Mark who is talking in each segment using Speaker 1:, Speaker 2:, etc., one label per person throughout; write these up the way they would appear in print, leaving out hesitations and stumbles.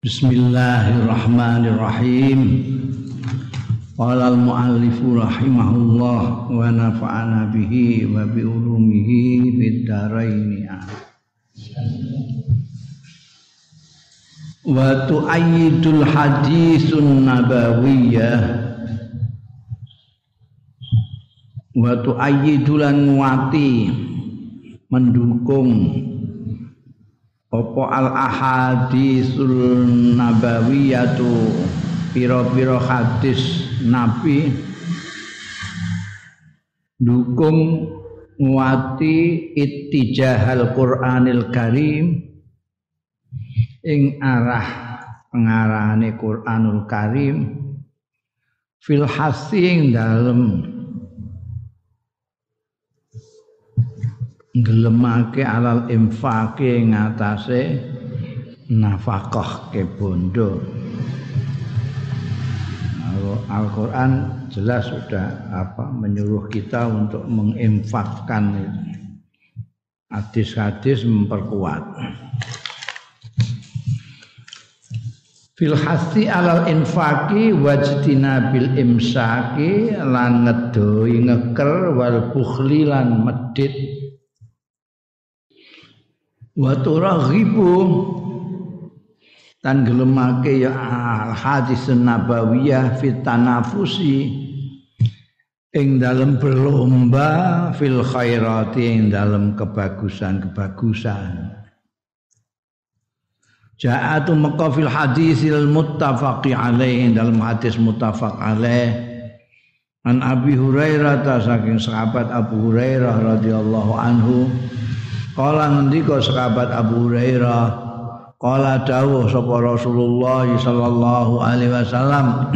Speaker 1: Bismillahirrahmanirrahim. Qala al-muallifu rahimahullah wa nafa'ana bihi wa bi ulumihi fid dharain. Wa tu'ayyidul haditsun nabawiyyah wa tu'ayyidulan nguati mendukung apa al-ahadisul nabawiyatu pira-pira hadis Nabi dukung nguati ittijahal Qur'anil Karim ing arah pengarahane Qur'anul Karim fil hasi dalem gelemake alal infaqe ngatasé nafkah ke bondo. Al-Qur'an jelas sudah menyuruh kita untuk menginfakkan itu. Hadis-hadis memperkuat. Fil hasi alal infaqi wajtinabil imsaki lan ngedoi ngeker wal bukhli lan medit wa turaghibu tan gelemake ya hadis nabawiyah fit tanafusi ing dalem berlomba fil khairati ing dalem kebagusan-kebagusan. Ja'atu maka fil hadisil muttafaqi alaih dalam hadis muttafaq alaih an Abi Hurairah saking sahabat Abu Hurairah radhiyallahu anhu. Kala ngendika sahabat Abu Hurairah, kala dawuh sapa Rasulullah sallallahu alaihi wasallam,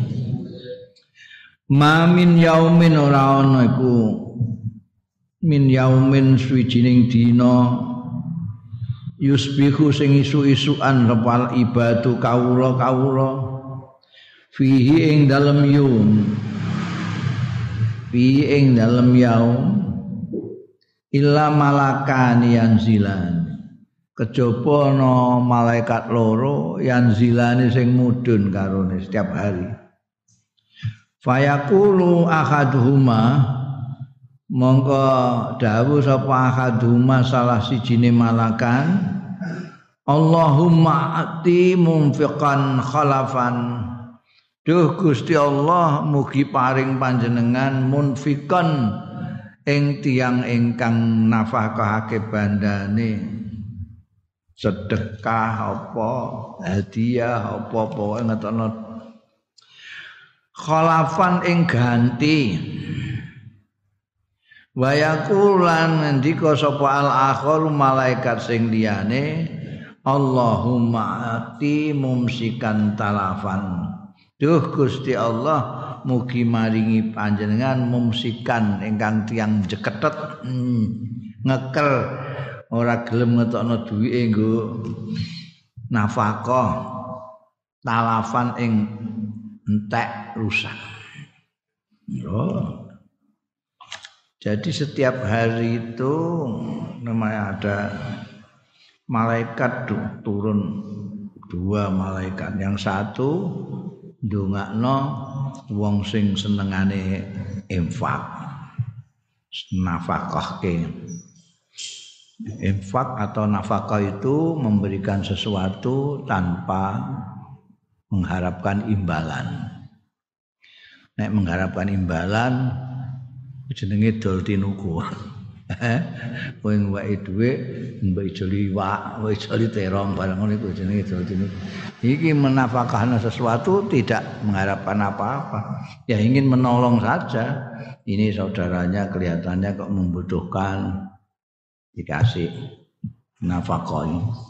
Speaker 1: ma min yaumin ora ana iku min yaumin suwijining dina yusbihu sing isu-isukan repal ibadu kawula fihi ing dalem yaum fihi ing dalem yaum illa malakani yanzilan kejaba ana malaikat loro yanzilane sing mudhun karone setiap hari fayaqulu ahaduhuma mongko dawuh sapa ahaduhuma salah sijine malakan Allahumma ati munfiqan khalafan duh Gusti Allah mugi paring panjenengan munfiqan ing tiyang ingkang nafkahake bandane sedekah apa hadiah apa pokoke ngetono khalafan ing ganti wa yaqulan ngendika sapa al-akhir malaikat sing liyane Allahumma ati mumsikan talafan duh Gusti Allah mugi maringi panjenengan mumsikan ingkang tiyang jeketet ngekel ora gelem ngetokno duwike nggo nafkah talafan ing entek rusak. Oh. Jadi setiap hari itu namanya ada malaikat turun dua malaikat, yang satu ndongakno wong sing senengane infak nafkahke. Infak atau nafkah itu memberikan sesuatu tanpa mengharapkan imbalan. Nek mengharapkan imbalan jenenge dol tinuku. Kowe ngweki dhuwit mbok ijo liwak, mbok ijo terong barang ngono iku jenenge dol tinuku. Iki menafkahkan sesuatu tidak mengharapkan apa-apa. Ya ingin menolong saja. Ini saudaranya kelihatannya kok membutuhkan dikasih nafkah.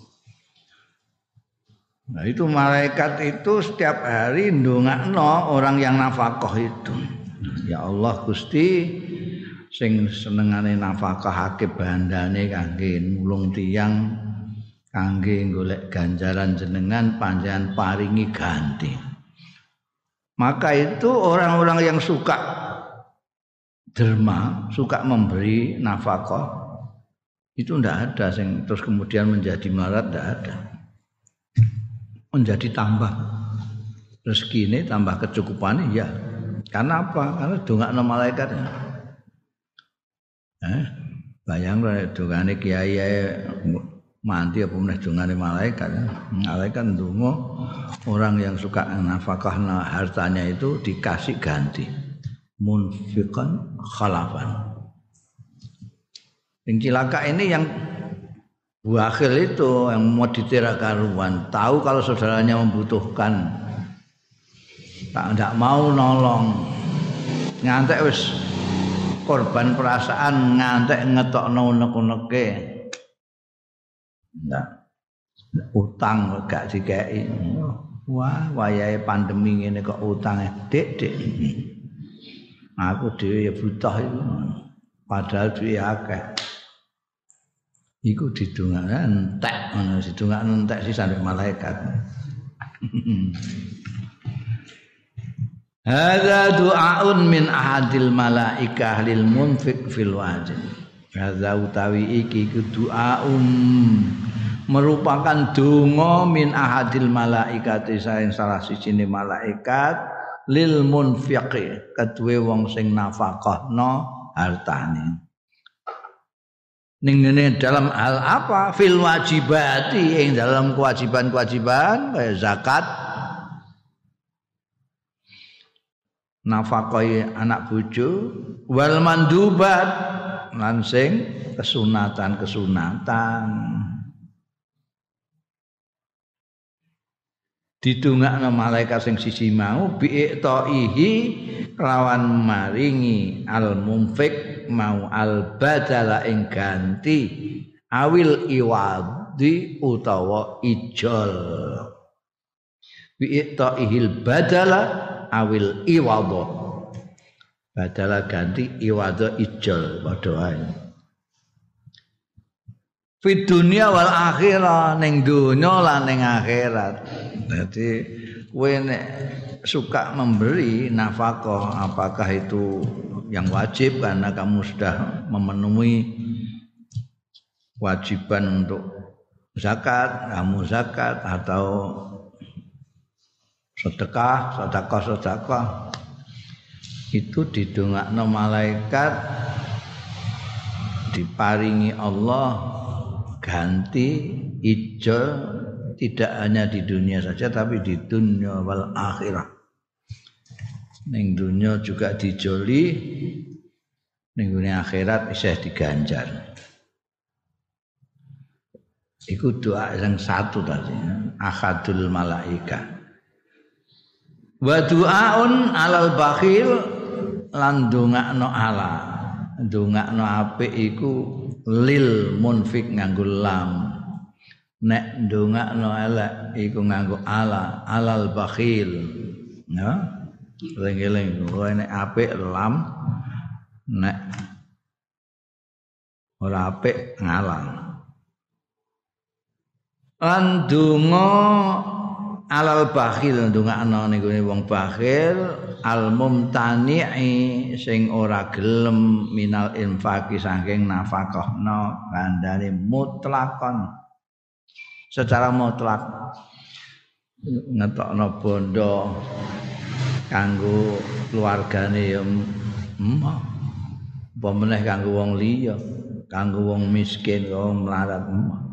Speaker 1: Nah itu malaikat itu setiap hari ndongakno orang yang nafkah itu. Ya Allah Gusti sing senengane nafkahake bandane kangge nulung tiyang kangge golek ganjaran jenengan panjenengan paringi ganti. Maka itu orang-orang yang suka derma, suka memberi nafkah itu ndak ada sing terus kemudian menjadi melarat, ndak ada. menjadi tambah rezekine, tambah kecukupane ya. Karena apa? Karena dongakno malaikat. Bayang dongane kiai mandi apa meneh dongane malaikat. Malaikat ndonga orang yang suka nafkah hartanya itu dikasih ganti. Munfiqan khalafan. Yang cilaka ini yang bakhil itu yang mau ditirak karuan, tahu kalau saudaranya membutuhkan, tak mau nolong, ngantek wis korban perasaan, ngantek ngetokno unek-uneke, utang gak dikei, wah wayahe pandemi ngene kok utang Dik, aku dhewe ya butuh itu, padahal duwe akeh. Iku didongakno entek ngono, didongakno entek sih sampe malaikat. Hadza du'aun min ahadil malaikah lil munfiq fil wajib. Hadza utawi iki du'aun merupakan donga min ahadil malaikati saing salah sijine malaikat lil munfiq keduwe wong sing nafakahno hartane. Ning dalam hal apa? Fil wajibati, ing dalam kewajiban-kewajiban kaya zakat, nafkahi anak bojo, wal mandubat lan sing kesunatan-kesunatan. Didongakno malaikat sing siji mau bi'iqtaihi lawan maringi al-munfiq mau al-badala ing ganti awil iwadi utawa ijol bi'iqtaihil badala awil iwada badala ganti iwada ijol padha wae fi dunya wal akhirah ning donya lan ning akhirat. Jadi kowe nek suka memberi nafkah apakah itu yang wajib karena kamu sudah memenuhi kewajiban untuk zakat, kamu zakat atau sedekah itu didongakno malaikat diparingi Allah ganti ijo tidak hanya di dunia saja tapi di dunia wal akhirah. Ning dunia juga dijoli, ning dunia akhirat isih diganjar. Iku doa yang satu tadi, ahadul malaika. Wa du'aun alal bakhil lan ndongakno ala. Ndongakno apik iku lil munfik nganggo lam. Nek ndongakno elek iku nganggo ala alal bakhil ya eling-eling kowe nek apik lam nek ora apik ngalang lan donga alal bakhil ndongakno niku wong bakhil al mumtani'i sing ora gelem minal infaqi saking nafkahno kandhane mutlakon secara mutlak ngetokno bondo kanggo keluargane ya apa meneh kanggo wong liya kanggo wong miskin wong melarat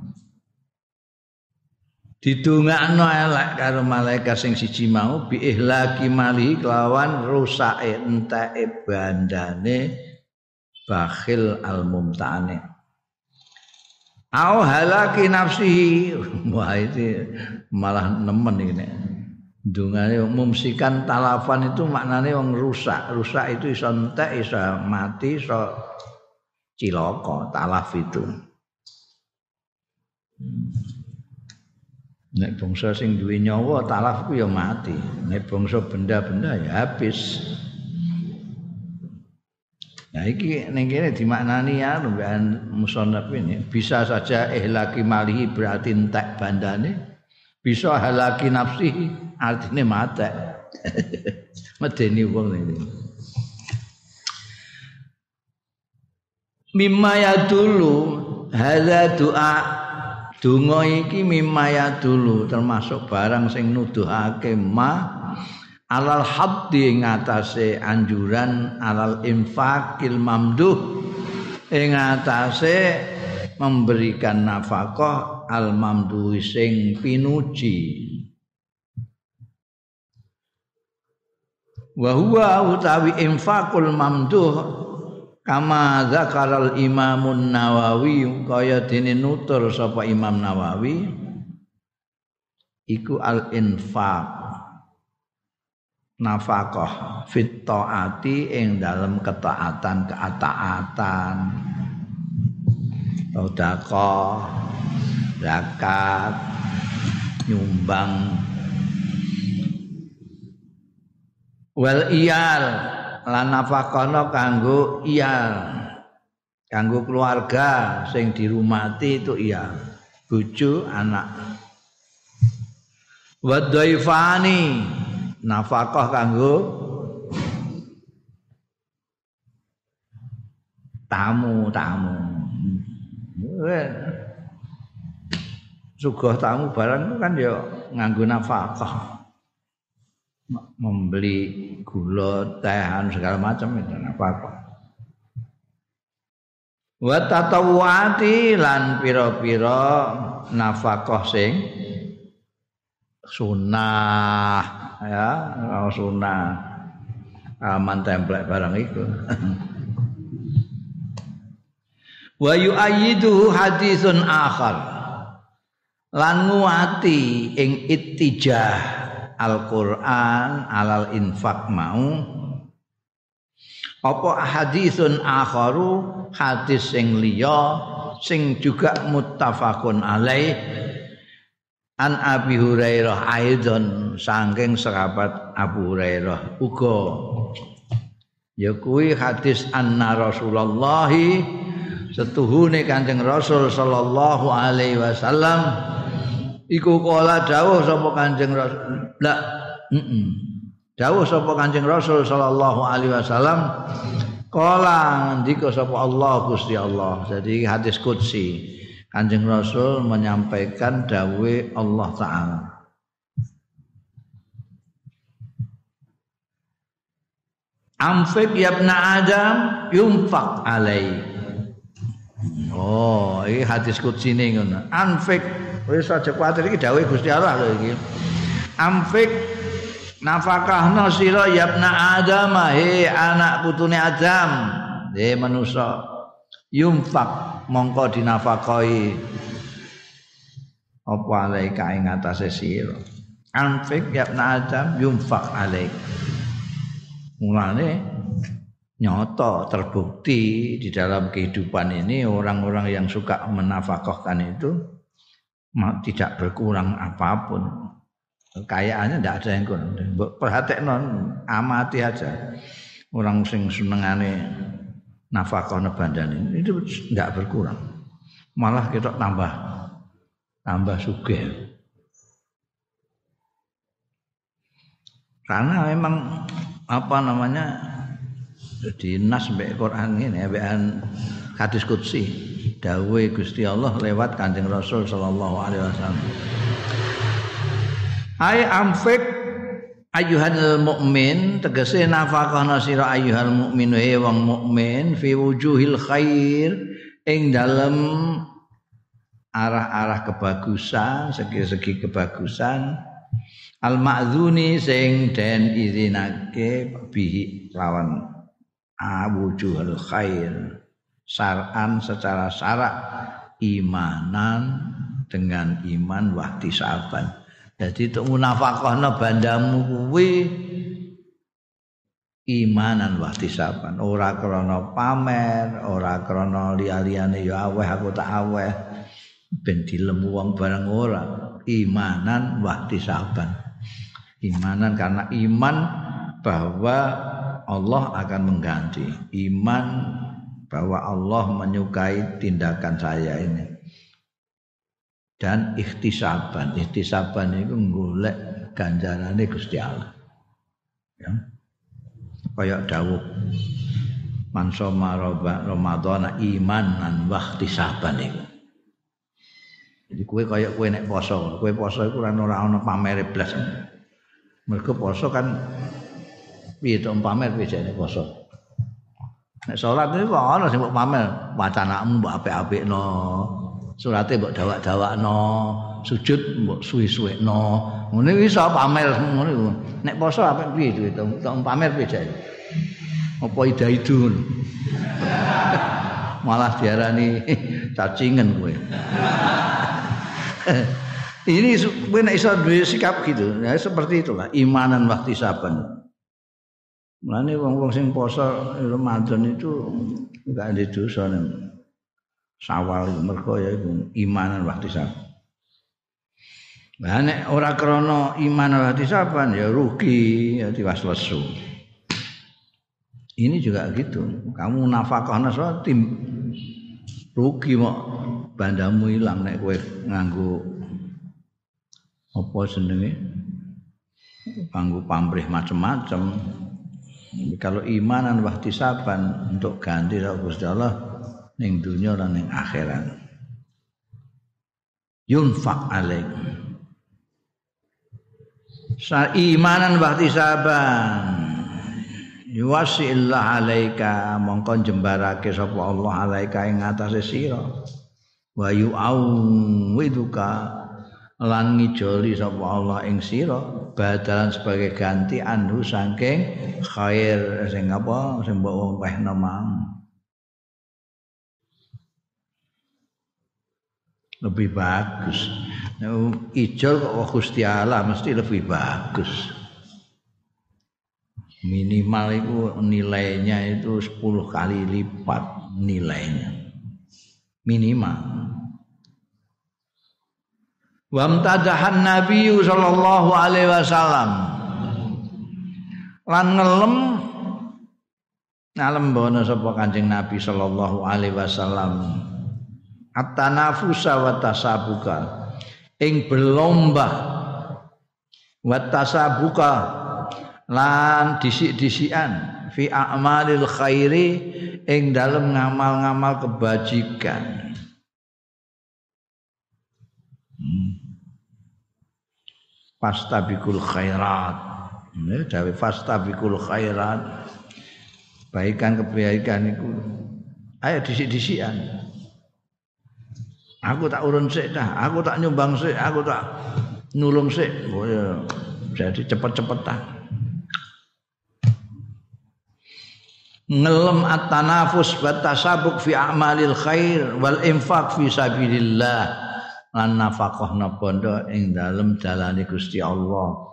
Speaker 1: didongakno elek karo malaikat sing siji mau bi ihlaki mali kelawan rusake enteke bandane bakhil al mumtani au halaki nafsihi wah itu malah nemen iki nek ndungane mumsikan talafan itu maknane wong rusak itu iso entek iso mati iso cilaka talaf itu nek bangsa sing duwe nyawa talaf ku ya mati nek bangsa benda-benda ya habis. Nah iki ning kene dimaknani ya mbekan musannaf ini bisa saja ihlaki malihi berarti entek bandane bisa halaki nafsihi artine mate medeni wong iki mimma ya dulu hadza doa Donga iki mimaya dulu termasuk barang sing nuduhake alal haddi ing atase anjuran alal infaqil mamduh ing atase memberikan nafkah al mamduh sing pinuji. Wa huwa utawi infaqul mamduh kama zakaral Imamun Nawawi kaya dene nutur sapa Imam Nawawi iku al infaq nafkah fit taati ing dalem ketaatan sedekah zakat nyumbang wal iyal lan nafakana kanggo iyal kanggo keluarga sing dirumati itu iyal bojo anak wa dhaifani nafkah kanggo tamu-tamu sugih tamu barang kan ya nganggo nafkah membeli gula, tehan segala macam itu apa-apa. Wa tatawwati lan pira-pira nafkah sing sunah ya, sunah aman templek barang iku. Wa yu'ayyiduhu haditsun akhar lan nguati ing ittijah Al-Qur'an alal infak mau apa hadisun akharu hadis sing liya sing juga muttafaqun alaih an Abi Hurairah aidon saking sahabat Abu Hurairah uga ya kuwi hadis anna Rasulullah setuhune Kanjeng Rasul sallallahu alaihi wasallam iku kala dawuh sapa Kanjeng Rasul dawuh sapa Kanjeng Rasul sallallahu alaihi wasallam kala ngendika sapa Allah Gusti Allah. Jadi hadis qudsi Kanjeng Rasul menyampaikan dawuh Allah taala. Amfik ya ibna Adam yunfaq alai. Oh, iki hadis qudsi ngono. Anfik wis aja kuwatir iki dawuh Gusti Allah lho iki. Amfik nafakahna sira ya ibna Adam he anak putune Adam he manusa yunfaq mongko dinafakahi apa alaika ing atase sira. Amfik ya ibna Adam yunfaq alaik. Mulane nyata terbukti di dalam kehidupan ini orang-orang yang suka menafkahkan itu tidak berkurang apapun. Kekayaannya tidak ada yang kurang. Perhatikno amati aja. Orang sing senengane nafkahna bandane itu tidak berkurang. Malah kita tambah sugih. Karena memang apa namanya di nas mbek Quran ini mbekan hadis qudsi dawuh Gusti Allah lewat Kanjeng Rasul sallallahu alaihi wasallam. Ai amfik ayyuhal mukmin tegese nafakahna sira ayyuhal mukmin he wong mukmin fi wujuhil khair ing dalem arah-arah kebagusan segi-segi kebagusan al ma'dzuni sing den izinake bihi lawan wujuhul khair syar'an secara syarak imanan dengan iman wahtisaban. Jadi untuk munafakahna bandamu kuwi imanan wahtisaban, ora krana pamer, ora krana liya-liyane ya aweh aku tak aweh ben dilemu wong bareng ora, imanan wahtisaban. Imanan karena iman bahwa Allah akan mengganti, iman bahwa Allah menyukai tindakan saya ini. Dan ikhtisaban itu golek ganjarane Gusti Allah. Ya. Kayak dawuh man soma Ramadhana imanan wa ikhtisaban iku. Jadi kowe nek poso, kowe poso iku ora ana pamere blas. Mergo poso kan piye to pamer piye jane poso. Nek salat niku kok ana sing mbok pamer, wacanakmu mbok apik-apikno. Surate mbok dawak-dawakno, sujud mbok suwi-suwekno. Ngene iso pamer ngono iku. Nek poso apik piye duwe to pamer piye jane. Apa ida-idun. Malah diarani cacingen kowe. Ini kowe nek iso duwe sikap gitu, ya seperti itulah imanan waktu saban. Mulane wong-wong sing poso Ramadan itu enggak ada dosa nek Syawal mergo ya iku imanan waktu saban. Lah nek ora krana iman waktu saban ya rugi, ya tiwas lesu. Ini juga gitu. Kamu nafkahna tim rugi mok bandamu ilang nek kowe nganggo apa jenenge nganggo pamrih macam-macam. Kalau imanan wahtisaban untuk ganti karo Gusti Allah ning dunya lan ning akhirat. Yunfaq alaik. Sa imanan wahtisaban. Yuwasillah alaika mongko jembarake sapa Allah alaika ing atase sira. Wa yu'awwiduka lan ngijoli sapa Allah ing sira badalan sebagai ganti anhu saking khair sing apa sing mbok wehna mang. Lebih bagus. Nek ijol kok Gusti Allah mesti lebih bagus. Minimal itu nilainya itu 10 kali lipat nilainya. Minimal. Wa amtadahan Nabi sallallahu alaihi wasallam. Lan ngalem bono sapa Kanjeng Nabi sallallahu alaihi wasallam. At-tanafusa wa tasabuka. Ing berlomba wa tasabuka lan disik-disikan fi a'malil khairi ing dalem ngamal-ngamal kebajikan. Fastabikul khairat. Dawe fastabikul khairat. Kebaikan iku ayo disik-disikan. Aku tak urun sik dah, aku tak nyumbang sik, aku tak nulung sik. Oh ya, jadi cepet-cepetan. Ngelem at-tanafus wa tasabuk fi a'malil khair wal infaq fi sabilillah lan nafaqahna bondo ing dalem dalane Gusti Allah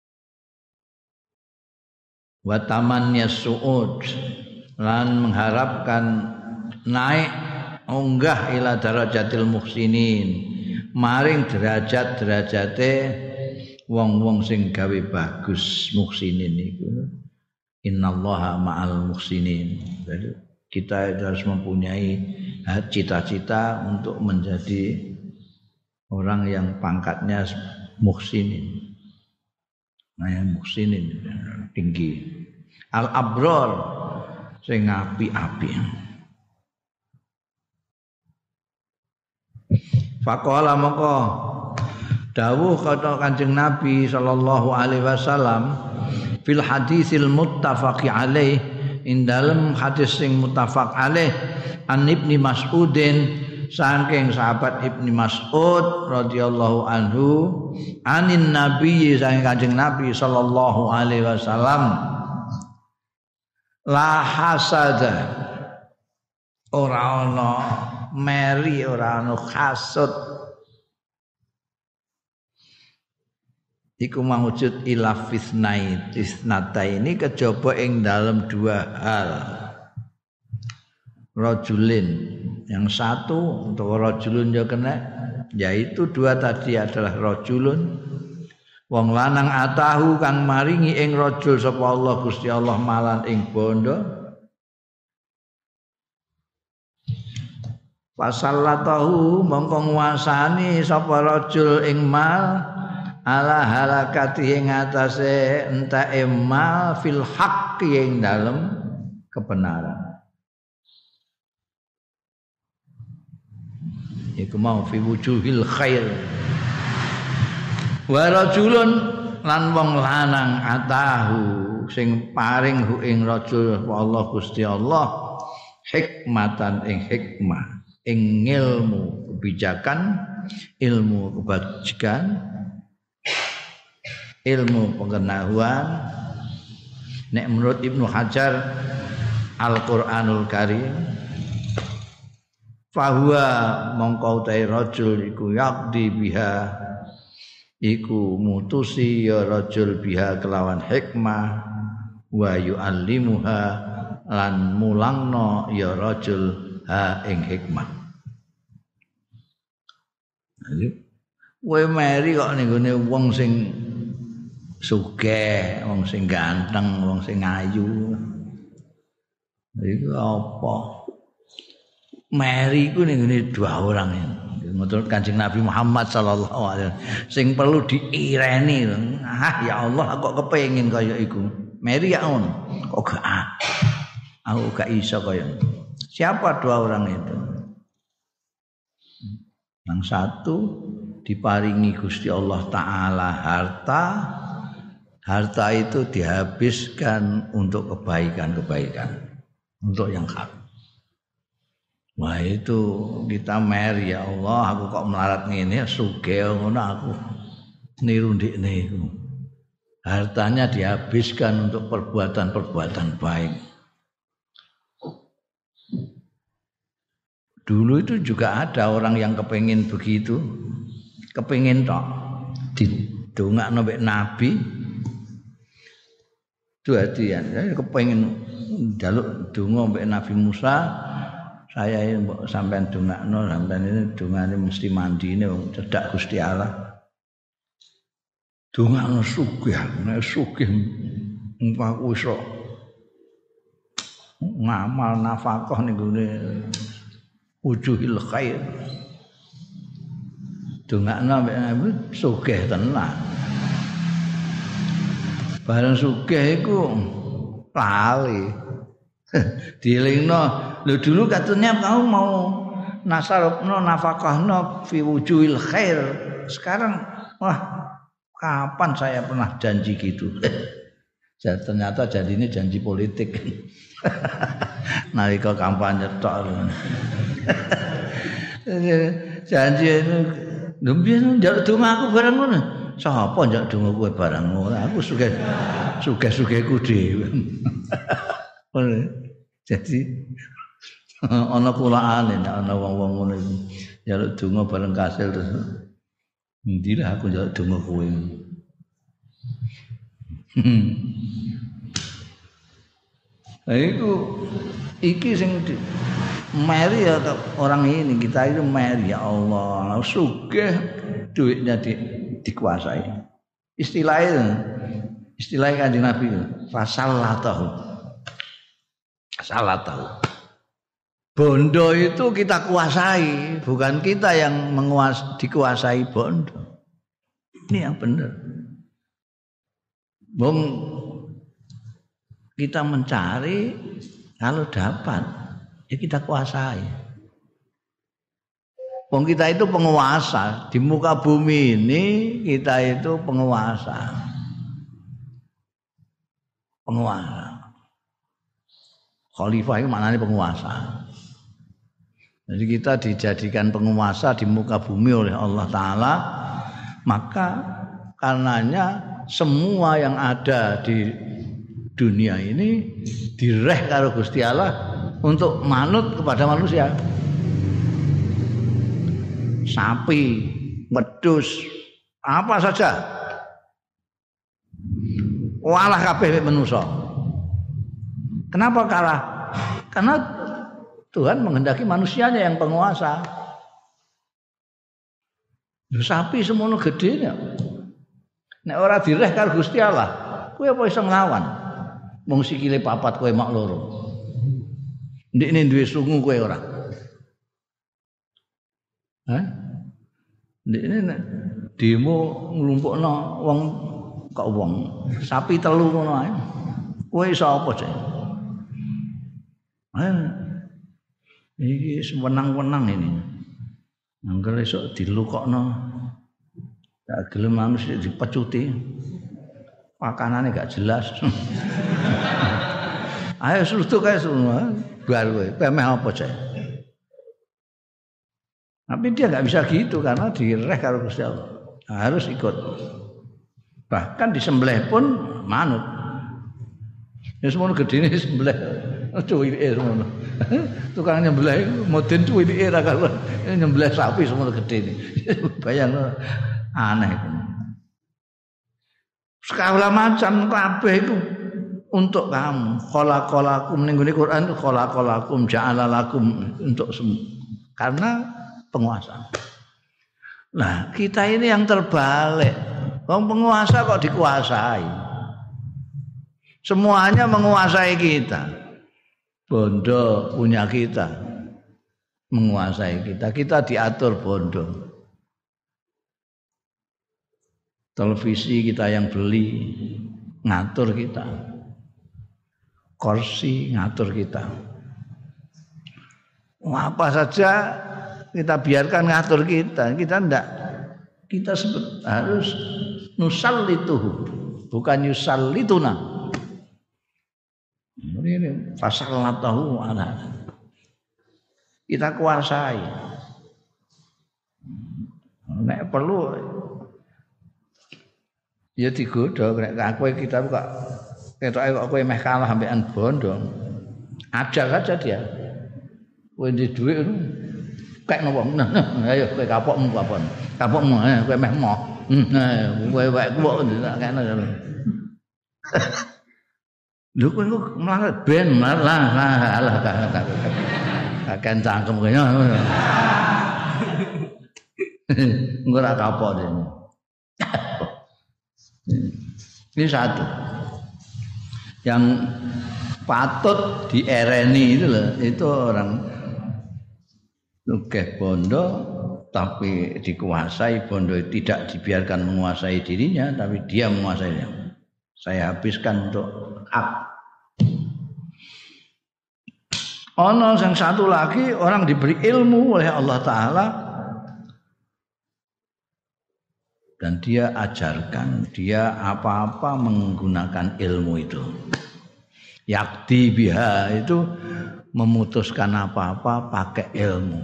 Speaker 1: wa tamannya su'ud lan mengharapkan naik unggah ila darajatil muhsinin maring derajat-derajate wong-wong sing gawe bagus muhsinin iku. Innallaha ma'al muhsinin. Jadi kita harus mempunyai cita-cita untuk menjadi orang yang pangkatnya muhsinin. Nah, yang muhsinin tinggi. Al-abrar sing api-api. Faqala maka dawuh kata Kanjeng Nabi sallallahu alaihi wasallam fil hadisil muttafaqi alaih in dalem hadis sing muttafaq alaih an Ibnu Mas'udin saking sahabat Ibnu Mas'ud radhiyallahu anhu anin nabi saking Kanjeng Nabi sallallahu alaihi wasallam la hasada ora ana meri ora ana hasud iku mawujud ila fisnata ini kejaba ing dalam dua hal. Rajulin yang satu untuk rajulun ya kena yaitu dua tadi adalah rajulun wong lanang atahu kang maringi ing rajul sapa Allah Gusti Allah malan ing bondo fasallatahu mongko nguasani sapa rajul ing mal ala halakati ing atase entae mal fil haqqi ing dalem kebenaran. iku mau fi wujuhil khair. Wa rajulun lan wong lanang atahu sing paring hu ing rajul Allah Gusti Allah hikmatan ing hikmah ing ilmu kebijakan ilmu kebajikan ilmu pengetahuan. Nek menurut Ibnu Hajar Al-Qur'anul Karim fahuwa mongko utai rajul iku yaqdi biha iku mutusi ya rajul biha kelawan hikmah wa yu'allimuha lan mulangno ya rajul ha ing hikmah. Kowe meri kok ning gone wong sing sugih, wong sing ganteng, wong sing ayu. Iku apa? Meri iku ning ngene dua orang ini. Menurut Kanjeng Nabi Muhammad sallallahu alaihi wasallam sing perlu diireni. Ah ya Allah aku kok kepengin kaya iku. Meri ya on. Kok gak aku gak iso kaya. Siapa dua orang itu? Yang satu diparingi Gusti Allah taala harta. Harta itu dihabiskan untuk kebaikan-kebaikan, untuk yang hak. Wah itu kita meri ya Allah, aku kok melarat ngene sugih ngono aku niru ndekne iku. Hartanya dihabiskan untuk perbuatan-perbuatan baik. Dulu itu juga ada orang yang kepengin begitu, kepengin tok didongakno mbek Nabi. Itu hadiah. Saya kepengin njaluk donga mbek Nabi Musa. Saya ini mbok sampean dongakno, sampean ini dongane mesti mandine wong cedhak Gusti Allah. Dongakno sugih, nek sugih aku iso ngamal nafkah ning gone wujuhil khair. Dongakno mbek Nabi sugih tenan. Bareng sugih iku lali. Dielingno, lho dulu katanya kamu mau nasarupno nafkahno fi wujuhil khair. Sekarang wah, kapan saya pernah janji gitu? Ternyata janji ini janji politik. Nalika kampanye tok. Janji itu lho biyen njaluk donga aku bareng ngono. Sapa njak donga kowe barang ngono? Aku sugih-sugihku dhewe. Jadi ana kulaane nek ana wong-wong ngono iku njaluk donga bareng kasil terus endi lah aku njaluk donga kowe. Iki sing meri ya orang ini kita itu meri ya Allah sugih duitnya dikuasai. Istilahnya Kanjeng Nabi fasallatahu. Bondo itu kita kuasai, bukan kita yang dikuasai bondo. Ini yang benar. Bung kita mencari kalau dapat ya kita kuasai. Wong kita itu penguasa di muka bumi ini, kita itu penguasa. Khalifah itu maknanya penguasa. Jadi kita dijadikan penguasa di muka bumi oleh Allah Ta'ala. Maka karenanya semua yang ada di dunia ini direh karo Gusti Allah untuk manut kepada manusia. Sapi, wedhus, apa saja. Walah kabeh manusa. Kenapa kalah? Karena Tuhan menghendaki manusianya yang penguasa. Sapi semono gedene. Nek ora direh karo Gusti Allah, kowe apa iso nglawan? Wong sikile papat kowe mak loro. Ndekne duwe sungu kowe ora. Hah? Ndekne nek demo nglumpukno wong kok wong sapi telu ngono ae. Kowe iso apa sih? Iki sewenang-wenang ini. Angger esuk dilukokno. Gak gelem manus dipecuti. Pakanane gak jelas. Ayo suruh kae semua. Bar kowe, pemeh apa cek. Tapi dia enggak bisa gitu karena direh karo Gusti Allah. Harus ikut. Bahkan disembelih pun manut. Ya semono gedene sembelih. Cuwilike semono. Tukang nyembelih modern cuwilike ra karo nyembelih sapi semono gedene. Bayangno aneh itu. Segala macam kabeh itu untuk kamu. Khalaqalakum ning ngene Quran khalaqalakum ja'alalakum untuk karena penguasa. Nah, kita ini yang terbalik. Wong penguasa kok dikuasai. Semuanya menguasai kita. Bondo punya kita. Menguasai kita. Kita diatur bondo. Televisi kita yang beli ngatur kita. Kursi ngatur kita. Apa saja kita biarkan ngatur kita. Kita enggak. Kita harus nusallituhu, bukan yusallituna. Ini fasallatahu ala. Kita kuasai. Nek perlu ya digodho nek kowe kita kok ketoke kok kowe meh kalah ambekan bondo. Ajak saja dia. Kowe ndek dhuwit kek nopo. Ayo kowe kapokmu kapon. Kapokmu kowe meh moh. Kowe wae kok ndak kene. Lho kowe kok melarat ben lah kakek cangkem kene. Engko ora kapok dene. Ini satu yang patut diereni itu loh, itu orang sugih bondo tapi dikuasai, bondo tidak dibiarkan menguasai dirinya tapi dia menguasainya. Saya habiskan untuk hak. Ono yang satu lagi orang diberi ilmu oleh Allah Ta'ala dan dia ajarkan, dia apa-apa menggunakan ilmu itu. Yakti biha itu memutuskan apa-apa pakai ilmu.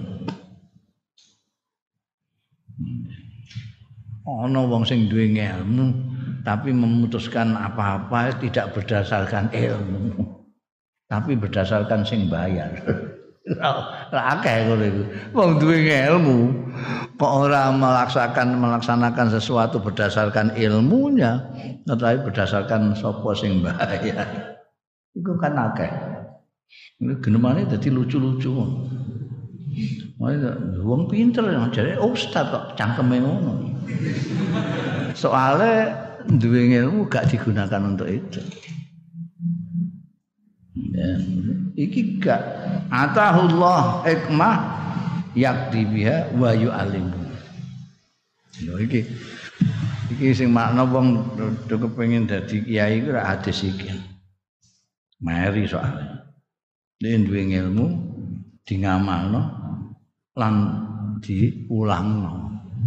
Speaker 1: Ono wong sing duwe ilmu tapi memutuskan apa-apa tidak berdasarkan ilmu, tapi berdasarkan sing bayar. Lah akeh ngono iku. Wong duwe ilmu kok ora melaksanakan sesuatu berdasarkan ilmunya, tetapi berdasarkan sapa sing bayar. Iku kan akeh. Ini genemane dadi lucu-lucu. Wong pinter jare ustaz kok cangkeme ngono. Soale duwe ilmu gak digunakan untuk itu. Ya, iki gak atahullah hikmah yakti biha wa yu'alim. Lho iki sing makna wong kepengin dadi kiai ku ora hadis iki. Mari soalnya. Nek duwe ilmu di ngamalno lan diulangno.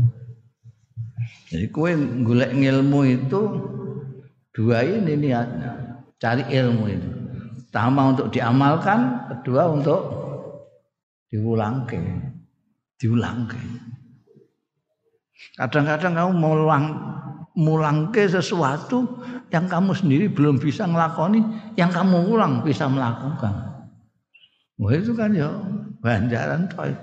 Speaker 1: Jadi kowe golek ilmu itu dua ini niatnya, cari ilmu itu. Pertama untuk diamalkan, kedua untuk diulangke. Kadang-kadang kamu mulangke sesuatu yang kamu sendiri belum bisa ngelakoni, yang kamu ulang bisa melakukan. Wah itu kan ya ganjaran toh.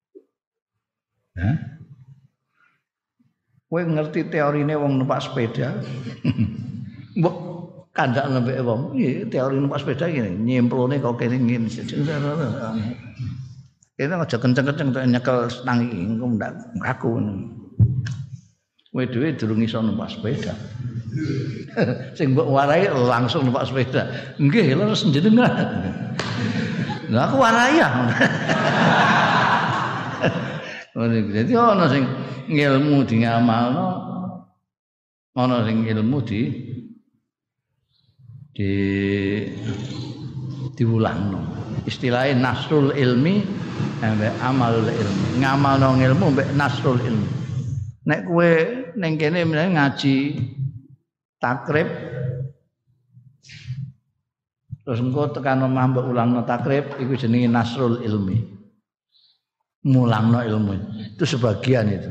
Speaker 1: Hah? Kowe ngerti teorine wong numpak sepeda? Mbok kandak lembek wong. Iki teori numpak sepeda ngene, nyemplone kok kene ngene. Kene aja kenceng-kenceng tok nyekel stang iki engko ndak kaku. Kowe dhewe durung iso numpak sepeda. Sing mbok warai langsung numpak sepeda. Nggih, leres njenengan. Lah aku warai ya. Jadi ana sing ilmu di ngamalno, ana sing ilmu di diwulangno. Istilahnya nasrul ilmi ambek amalul ilmi. Ngamalno ilmu ambek nasrul ilmi. Nek kowe ning kene ngaji takrib terus engko tekan omah mbok ulangno takrib iku jenenge nasrul ilmi. Mulangno ilmu. Itu sebagian itu.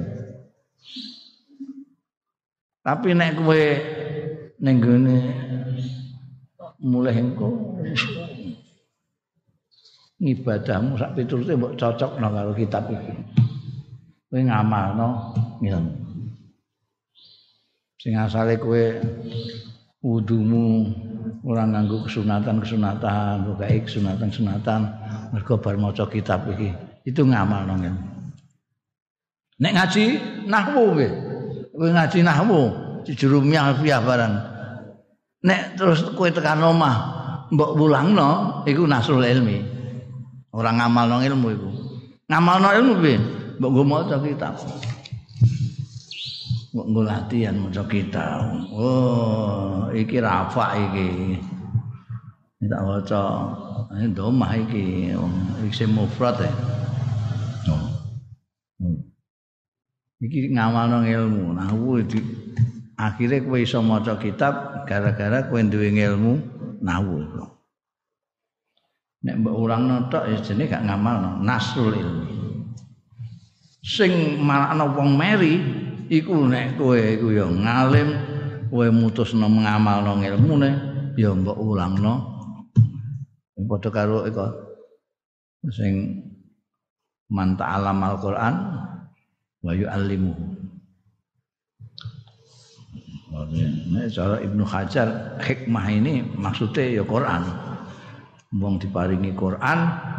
Speaker 1: Tapi nek kowe ning gone mulih engko ngibadahmu sak piturute mbok cocokno karo kitab iki. Kowe ngamalno ngilmu. Sing asale kowe wudumu ora nganggo kesunatan-kesunatan, pokoke kesunatan-kesunatan mergo bar maca kitab iki. Itu ngamalno ngilmu. Nek ngaji nahwu kowe. Kowe ngaji nahwu jurumiyah alfiyah barang. Nek terus kowe tekan omah mbok wulangno iku nasrul ilmi. Ora ngamalno ilmu iku. Ngamalno ilmu piye? Mbok nggo maca kitab. Mbok nggo latihan maca kitab. Oh, iki rafa iki. Tak waca domah iki isim mufrad ya. Iki ngamalno ilmu. Nahwu akhire kowe iso maca kitab gara-gara kowe duwe ilmu nahwu. Nek mbok urangno tok ya jenenge gak ngamalno nasrul ilmi. Sing malakno wong meri iku nek kowe iku ya ngalim, kowe mutusno ngamalno ilmune ya mbok ulangno. Padha karo iku sing man ta'allama al-Qur'an wa yu'allimuhu. Nek cara Ibnu Hajar hikmah ini maksudnya ya Quran. Wong diparingi Quran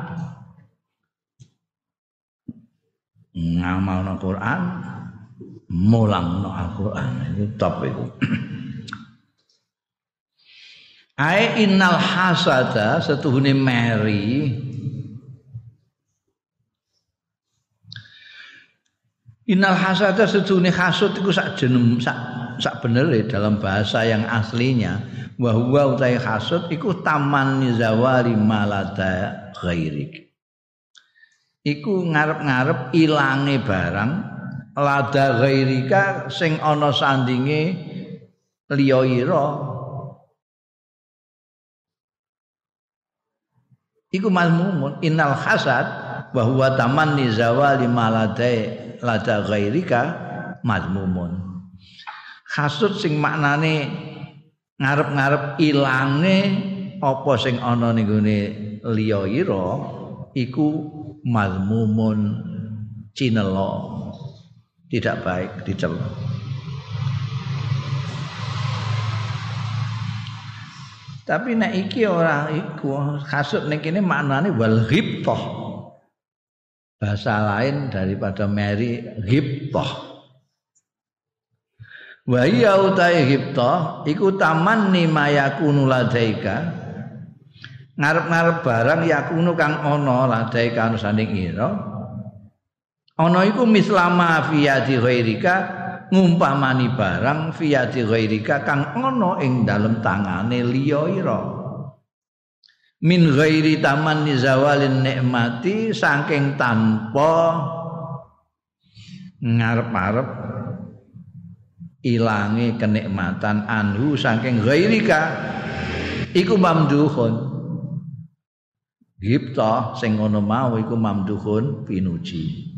Speaker 1: ngamalno Quran, mulangno Al-Qur'an. Itu top itu. Ai innal hasada setuhune meri innal hasada setuhune hasud iku sak jeneng sak benere dalam bahasa yang aslinya wa huwa utai hasud iku tamanni zawali malada ghairik. Iku ngarep-ngarep ilange barang lada ghairika sing ana sandinge liya ira. Iku mazmumun innal hasad wa huwa tamanni zawali malada lada ghairika mazmumun. Hasud sing maknane ngarep-ngarep ilange apa sing ana ning gone liya ira iku mazmumun cinela, tidak baik dicela. Tapi nek iki ora iku hasud ning kene maknane wal ghibthah. Bahasa lain daripada meri ghibthah. Wa ya utai ghibthah iku tamanni mayakunu ladaika. Ngarep-ngarep barang yakunu kang ana ladaika anu sanding ira. Ana iku mislama fiyati ghairika ngumpamani barang fiyati ghairika kang ana ing dalem tangane liya ira. Min ghairi tamanni zawalin nikmati saking tanpa ngarep-arep ilange kenikmatan anhu saking ghairika iku mamduhun. Ghibthah sing ngono mau iku mamduhun pinuji.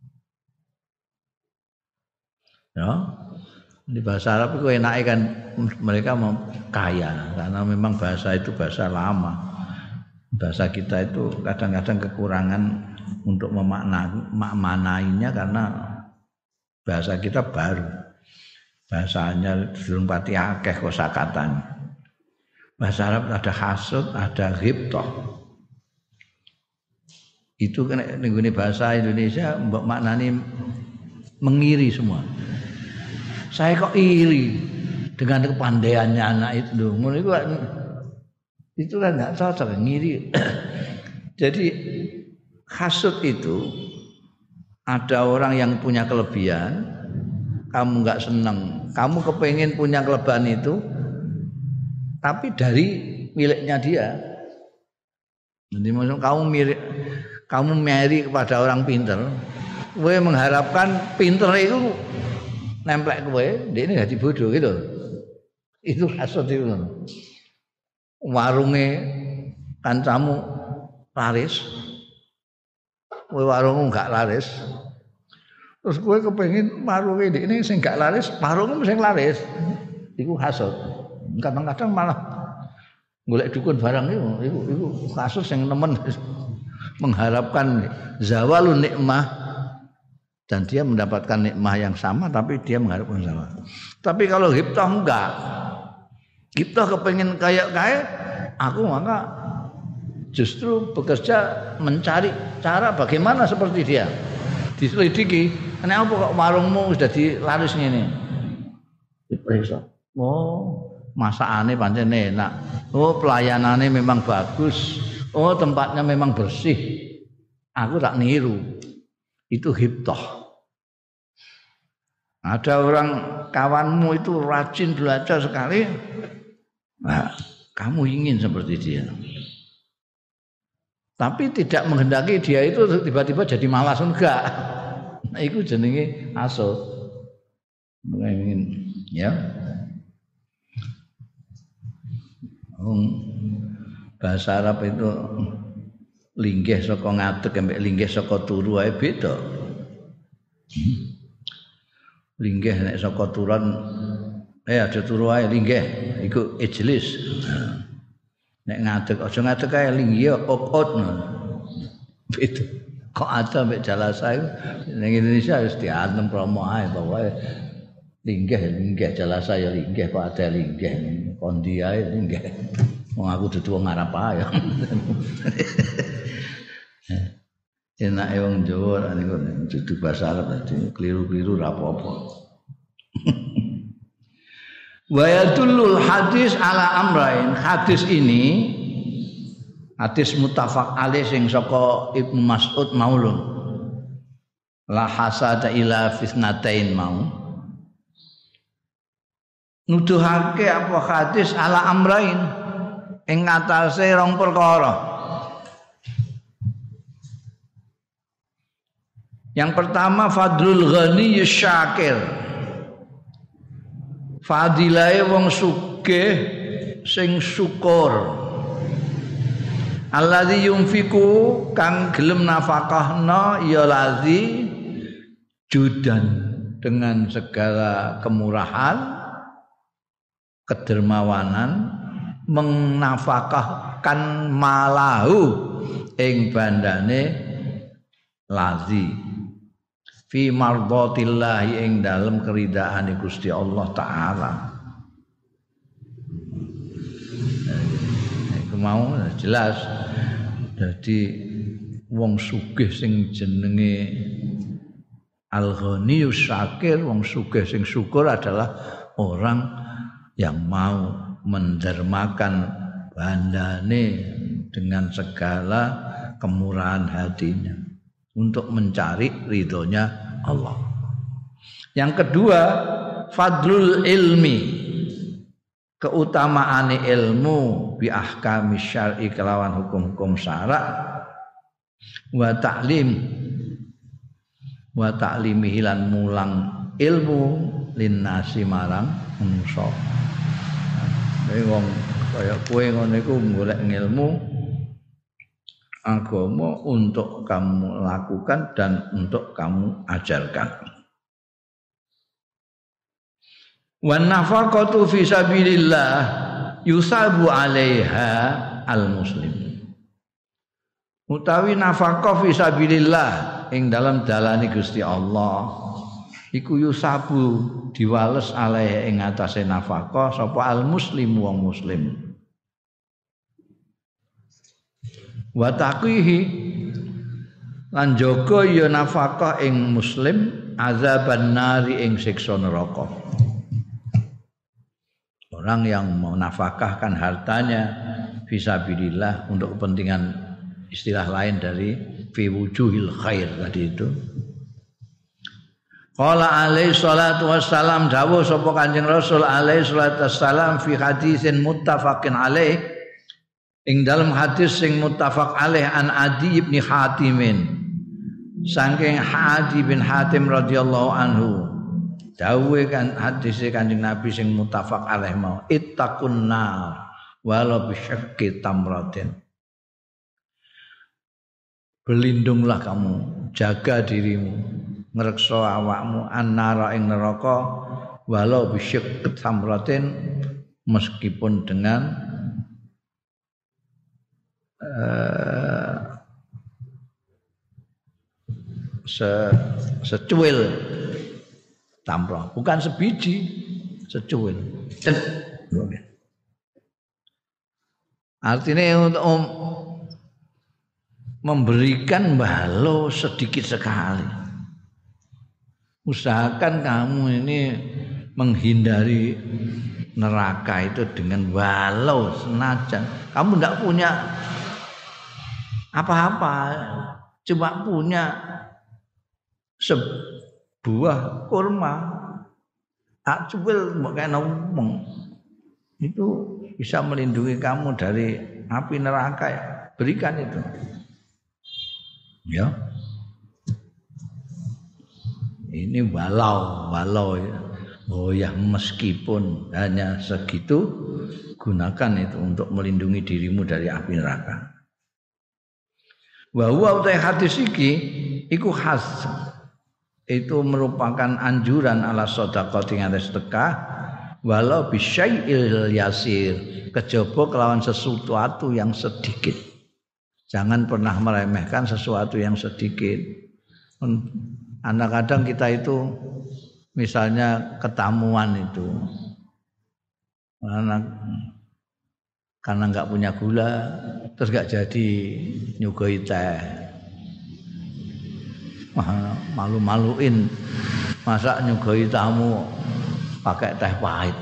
Speaker 1: Ya. Di bahasa Arab itu enake kan mereka mau kaya karena memang bahasa itu bahasa lama. Bahasa kita itu kadang-kadang kekurangan untuk memaknainya karena bahasa kita baru. Bahasanya durung pati akeh kosakatane. Bahasa Arab ada hasud, ada ghibthah. Itu kan ning bahasa Indonesia mbok maknani mengiri semua. Saya kok iri dengan kepandaiannya anak itu. Ngono itu kan enggak cocok ngiri. Jadi hasud itu ada orang yang punya kelebihan, kamu enggak senang, kamu kepengen punya kelebihan itu tapi dari miliknya dia. Jadi maksud kamu meri kepada orang pinter, kowe mengharapkan pinter itu nemplek kowe, dia ini jadi bodoh gitu. Itu hasud itu. Warunge kancamu laris, kowe warungmu enggak laris. Terus kowe kepengin warunge ini sing enggak laris, warungmu sing laris. Iku hasud. Kadang-kadang malah golek dukun barang iku hasud sing nemen mengharapkan zawalun nikmah dan dia mendapatkan nikmah yang sama tapi dia mengharapkan sama. Tapi kalau ghibtah enggak. Ghibtah kepengin kaya-kaya, aku maka justru bekerja mencari cara bagaimana seperti dia. Diselidiki, kenapa kok warungmu sudah dilaris ngene? Diperiksa. Oh, masakane pancen enak. Oh, pelayanannya memang bagus. Oh, tempatnya memang bersih. Aku tak niru. Itu ghibtah. Ada orang kawanmu itu rajin belajar sekali. Nah, kamu ingin seperti dia. Tapi tidak menghendaki dia itu tiba-tiba jadi malas enggak. Nah, itu jenenge hasud. Ingin ya. Bahasa Arab itu linggih saka ngadeg ambek linggih saka turu ae beda. Linggih nek saka turun ada turu ae linggih iku ijlis. Nek ngadeg aja ngadeg ae linggih okot. Beda. Kok ada mbek jalasa iku ning Indonesia harus diantem promo ae pokoke linggih jalasa ya linggih kok ada linggih kondi ae linggih. Wong aku dudu wong Arab ae. Enake wong Jawa niku dudu bahasa Arab dadi keliru-keliru ra apa-apa. Wa yadullul hadis ala amrain. Hadis ini hadis muttafaq alaih sing saka Ibnu Mas'ud maulun. La hasada ila fitnatain mau. Nuduhake apa hadis ala amrain ing ngatasé rong perkara. Yang pertama fadlul ghani syakir. Fadilahe wong sugih sing syukur. Alladzi yunfiku kang gelem nafakahna ya lazi judan dengan segala kemurahan, kedermawanan menafakahkan malahu ing bandane lazi fi mardhatillah ing dalem keridaan Gusti Allah taala. Iku mau jelas. Jadi wong sugih sing jenenge al-ghaniyus syakir, wong sugih sing syukur adalah orang yang mau mendermakan bandane dengan segala kemurahan hatinya untuk mencari ridhonya Allah. Yang kedua, fadlul ilmi, keutamaane ilmu bi ahkami syar'i kelawan hukum-hukum syara' wa ta'limihi lan mulang ilmu linnasi marang manusa. Wong kaya kowe ngono iku golek ilmu agama untuk kamu lakukan dan untuk kamu ajarkan. Wan nafaqatu fi sabilillah yusabu 'alaiha al-muslim. Utawi nafaqah fi sabilillah ing dalam dalane Gusti Allah iku yusabu diwales alaiha ing atase nafaqah sapa al-muslim wong muslim. Wa taqihi lan jaga ya nafaqah ing muslim azaban nari ing siksa neraka. Orang yang menafkahkan hartanya fisabilillah untuk kepentingan istilah lain dari fi wujuhil khair tadi itu. Qala alaihi salatu wassalam dawuh sapa Kanjeng Rasul alaihi salatu wassalam fi hadisin muttafaqin alaih Ing dalam hadis sing muttafaq alaih an Adi bin Hatimin saking Adi bin Hatim radhiyallahu anhu dawuhe kan hadis Kanjeng Nabi sing muttafaq alaih mau ittaqun nar walau bisyaqqi tamratin. Berlindunglah kamu, jaga dirimu, ngrekso awakmu annara ing neraka walau bisyaqqi tamratin, meskipun dengan secuil tamroh, bukan sebiji, secuil. Artinya untuk memberikan balo sedikit sekali. Usahakan kamu ini menghindari neraka itu dengan balo senajan kamu tidak punya apa-apa, cuma punya sebuah kurma, cuwil mbok kena ngomong, itu bisa melindungi kamu dari api neraka ya. Berikan itu. Ya. Ini walau ya. Oh ya, meskipun hanya segitu, gunakan itu untuk melindungi dirimu dari api neraka. Wa huwa utai hadis iku khas, itu merupakan anjuran ala sedekah ing atas sedekah walau bisyai'il yasir, kejaba kelawan sesuatu yang sedikit. Jangan pernah meremehkan sesuatu yang sedikit. Kadang kita itu misalnya ketamuan itu karena enggak punya gula terus enggak jadi nyugoi teh. Malu-maluin masa nyugoi tamu pakai teh pahit.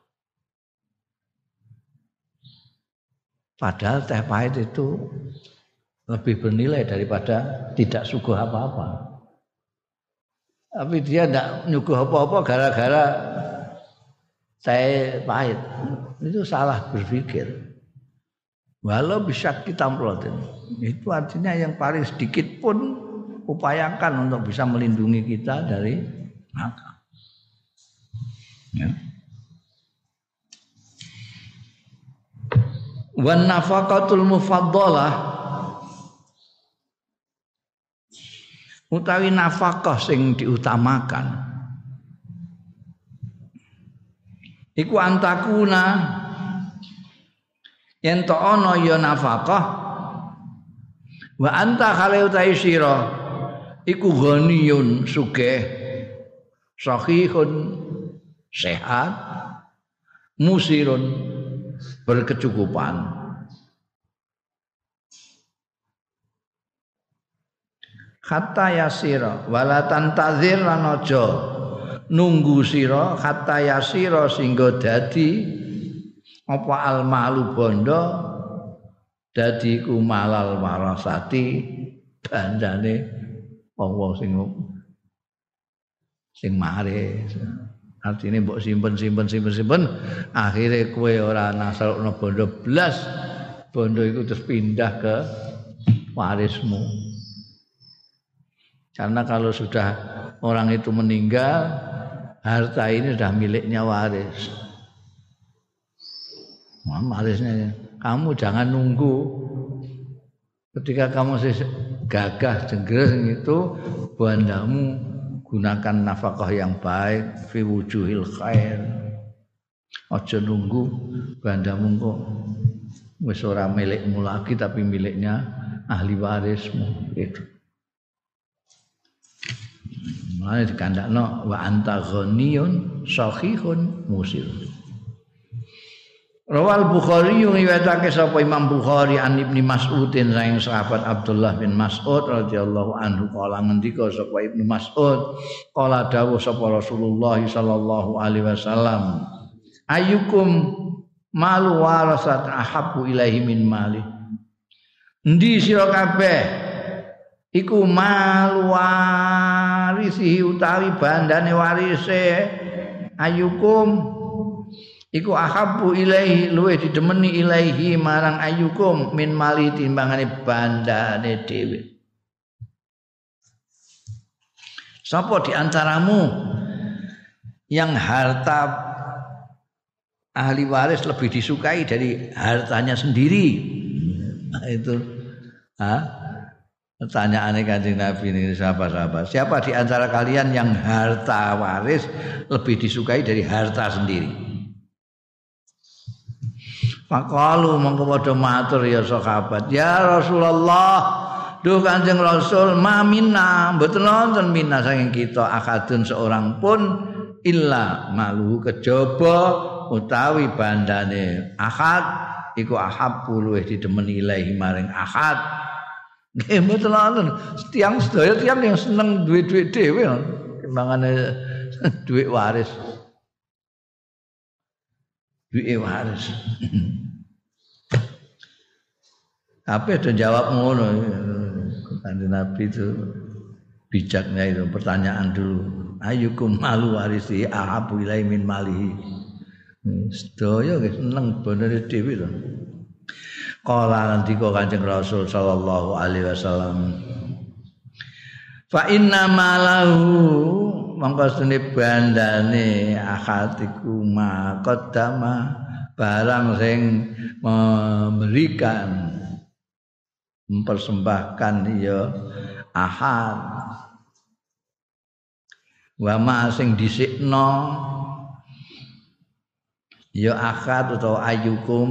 Speaker 1: Padahal teh pahit itu lebih bernilai daripada tidak suguh apa-apa. Tapi dia tidak nyuguh apa-apa gara-gara teh pahit. Itu salah berpikir. Walau bisa kita melotin, itu artinya yang paling sedikit pun upayakan untuk bisa melindungi kita dari neraka. Ya. Wan nafaqatul mufaddalah, utawi nafkah sing diutamakan iku antakuna yen to ana ya nafkah wa anta khale utawi sira iku ghaniyun sugih sahihun sehat musirun berkecukupan. Hatta yasira wala tantazir lan aja nunggu sira hatta yasira singgo dadi apa al malu bondo dadi ku malal warasati bandane wong sing mare. Artine mbok simpen akhire kowe ora nasalno bondo blas, bondo iku terus pindah ke warismu. Karena kalau sudah orang itu meninggal, harta ini sudah miliknya waris. Warisnya, kamu jangan nunggu. Ketika kamu gagah jengger itu, bandamu gunakan nafkah yang baik, fi wujuhil khair. Aja nunggu bandamu kok wis ora milikmu lagi tapi miliknya ahli warismu itu. Mulane dikandakno wa anta ghaniyun sahihun musir. Rawal Bukhari riwayatake sapa Imam Bukhari an Ibnu Mas'udin saking sahabat Abdullah bin Mas'ud radhiyallahu anhu kala ngendika sapa Ibnu Mas'ud kala dawuh sapa Rasulullah sallallahu alaihi wasallam ayyukum malu warasat ahabbu ilaihi min mali. Endi sira kabeh iku malu warisi utawi bandane warise ayyukum iku ahabbu ilaihi luwih didemeni ilaihi marang ayyukum min mali timbangane bandane dhewe. Sapa di antaramu yang harta ahli waris lebih disukai dari hartanya sendiri? Nah, itu pertanyaannya Kanjeng Nabi ini sahabat-sahabat. Siapa di antara kalian yang harta waris lebih disukai dari harta sendiri? Faqalu mongko padha matur ya sahabat, ya Rasulullah, duh Kanjeng Rasul, ma minna, mboten wonten minna saking kita akadun seorang pun illa malu kejaba utawi bandane akad iku ahabbu luwih didemeni ilahi maring akad. Nggih mboten wonten tiyang sedaya tiyang yang seneng duwe-duwe dhewe kembangane duwe waris. Duwe waris. Tapi ada jawab ngono. Kanjeng Nabi itu bijaknya itu pertanyaan dulu. Ayyukum malu warisi ahabu ilai min malihi. Sedaya seneng bonane dhewe to. Kala ngendika Kanjeng Rasul sallallahu alaihi wasallam. Fa inna malahu mangko stene bandane akatiku ma qaddama barang sing memberikan mempersembahkan ya ahad wa ma sing dhisikno ya akad utawa ayyukum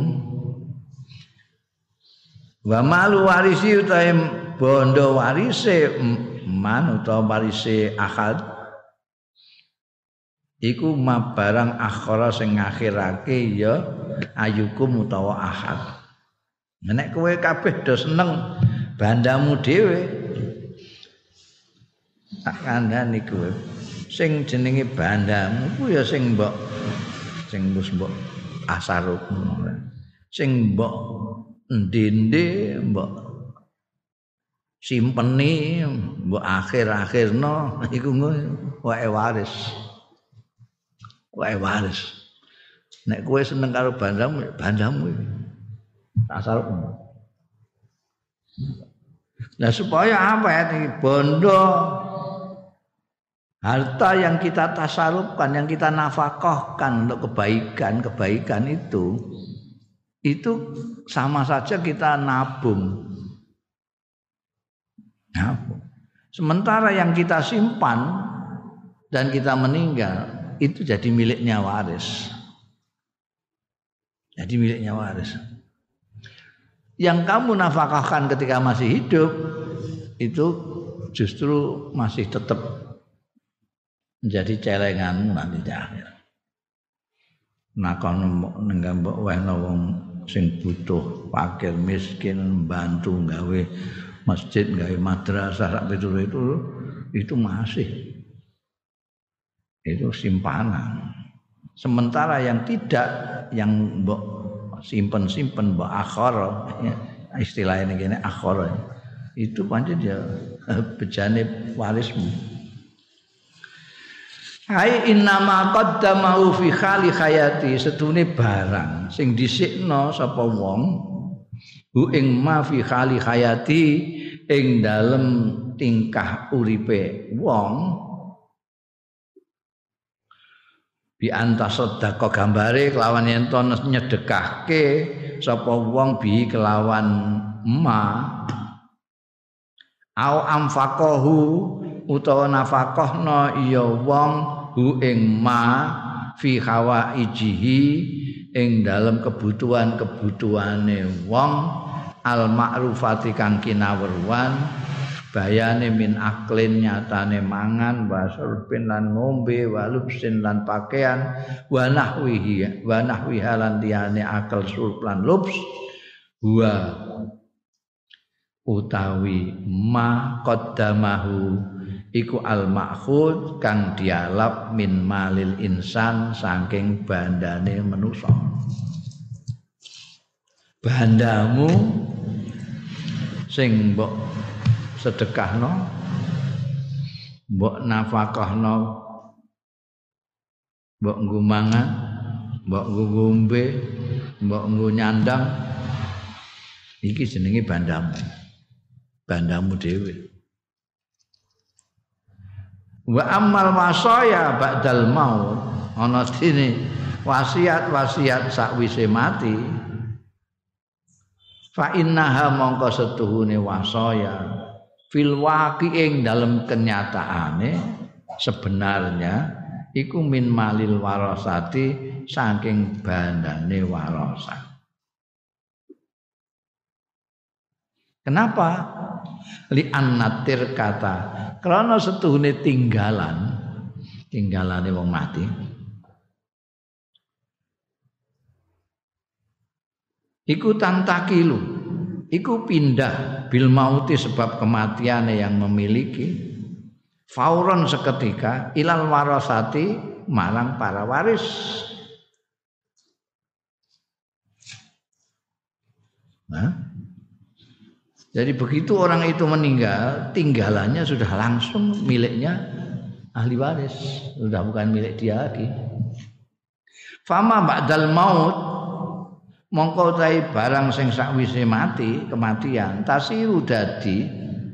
Speaker 1: wa malu warisi utawa bondo warise man utawa warise akad iku ma barang akhara sing ngakhirake ya ayyukum utawa ahad. Nek kowe kabeh do seneng bandamu dhewe tak kandhani kowe sing jenenge bandamu ku ya sing mbok asaruk sing mbok ndende mbok simpeni mbok akhir-akhirno iku wae waris nek kowe seneng karo bandamu asal nah supaya apa ya bondo harta yang kita tasarufkan yang kita nafkahkan untuk kebaikan itu sama saja kita nabung. Sementara yang kita simpan dan kita meninggal itu jadi miliknya waris. Yang kamu nafkahkan ketika masih hidup itu justru masih tetap menjadi celenganmu nanti di akhir. Nah kono nenggang mbok wehno wong sing butuh, fakir, miskin, bantu gawe masjid, gawe madrasah sak pitur itu masih itu simpanan. Sementara yang tidak yang mbok simpen mbok akhara istilahnya ngene akhara itu pancen ya bejane warismu. Hai innama qaddamahu fi khali hayati setune barang sing dhisikno sapa wong hu ing ma fi khali hayati ing dalem tingkah uripe wong bi antas sedekah gambare kelawan yen to nyedekahke sapa wong bi kelawan ma au amfaqahu utawa nafaqahna ya wong hu ing ma fi hawaijihi ing dalem kebutuhan-kebutuhane wong al ma'rufati kang kinawruan bayane min aklin nyatane mangan wasurpin lan ngombe walubsin lan pakaian wa nahwihi lan liyane akal surp lan lubs wa utawi ma qaddamahu iku al ma'khud kang dialap min malil insan saking bandane manusa. Bandamu sing mbok sedekahno mbok nafkahno mbok nggo mangan mbok ngombe, mbok nyandang iki jenenge bandamu. Bandamu dhewe. Wa ammal wasaya ba'dal maut ana dene wasiat-wasiat sakwise mati fa innaha mongko setuhune wasaya fil waqi'ing dalam kenyataane sebenarnya iku min malil warasati saking bandane warasat. Kenapa? Li annatir kata karena setuhune tinggalane wong mati iku tantakilu iku pindah bil mauti sebab kematiane yang memiliki fauron seketika ilal warasati marang para waris. Jadi begitu orang itu meninggal, tinggalannya sudah langsung miliknya ahli waris, sudah bukan milik dia lagi. Fama ba'dal maut mongko tai barang sing sakwise mati, kematian, tasiru dadi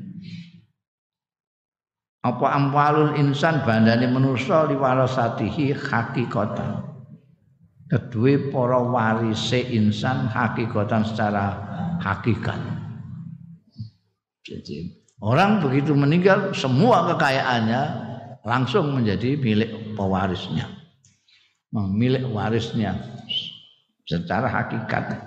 Speaker 1: apa amwalul insan bandane manusa liwarasatihi hakikatan. Kedue para warise insan hakikatan secara hakikat. Jadi, orang begitu meninggal semua kekayaannya langsung menjadi milik pewarisnya, milik warisnya secara hakikat.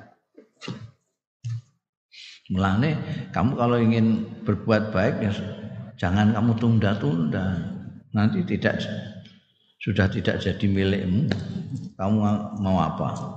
Speaker 1: Mulane kamu kalau ingin berbuat baik ya jangan kamu tunda-tunda, nanti sudah tidak jadi milikmu. Kamu mau apa?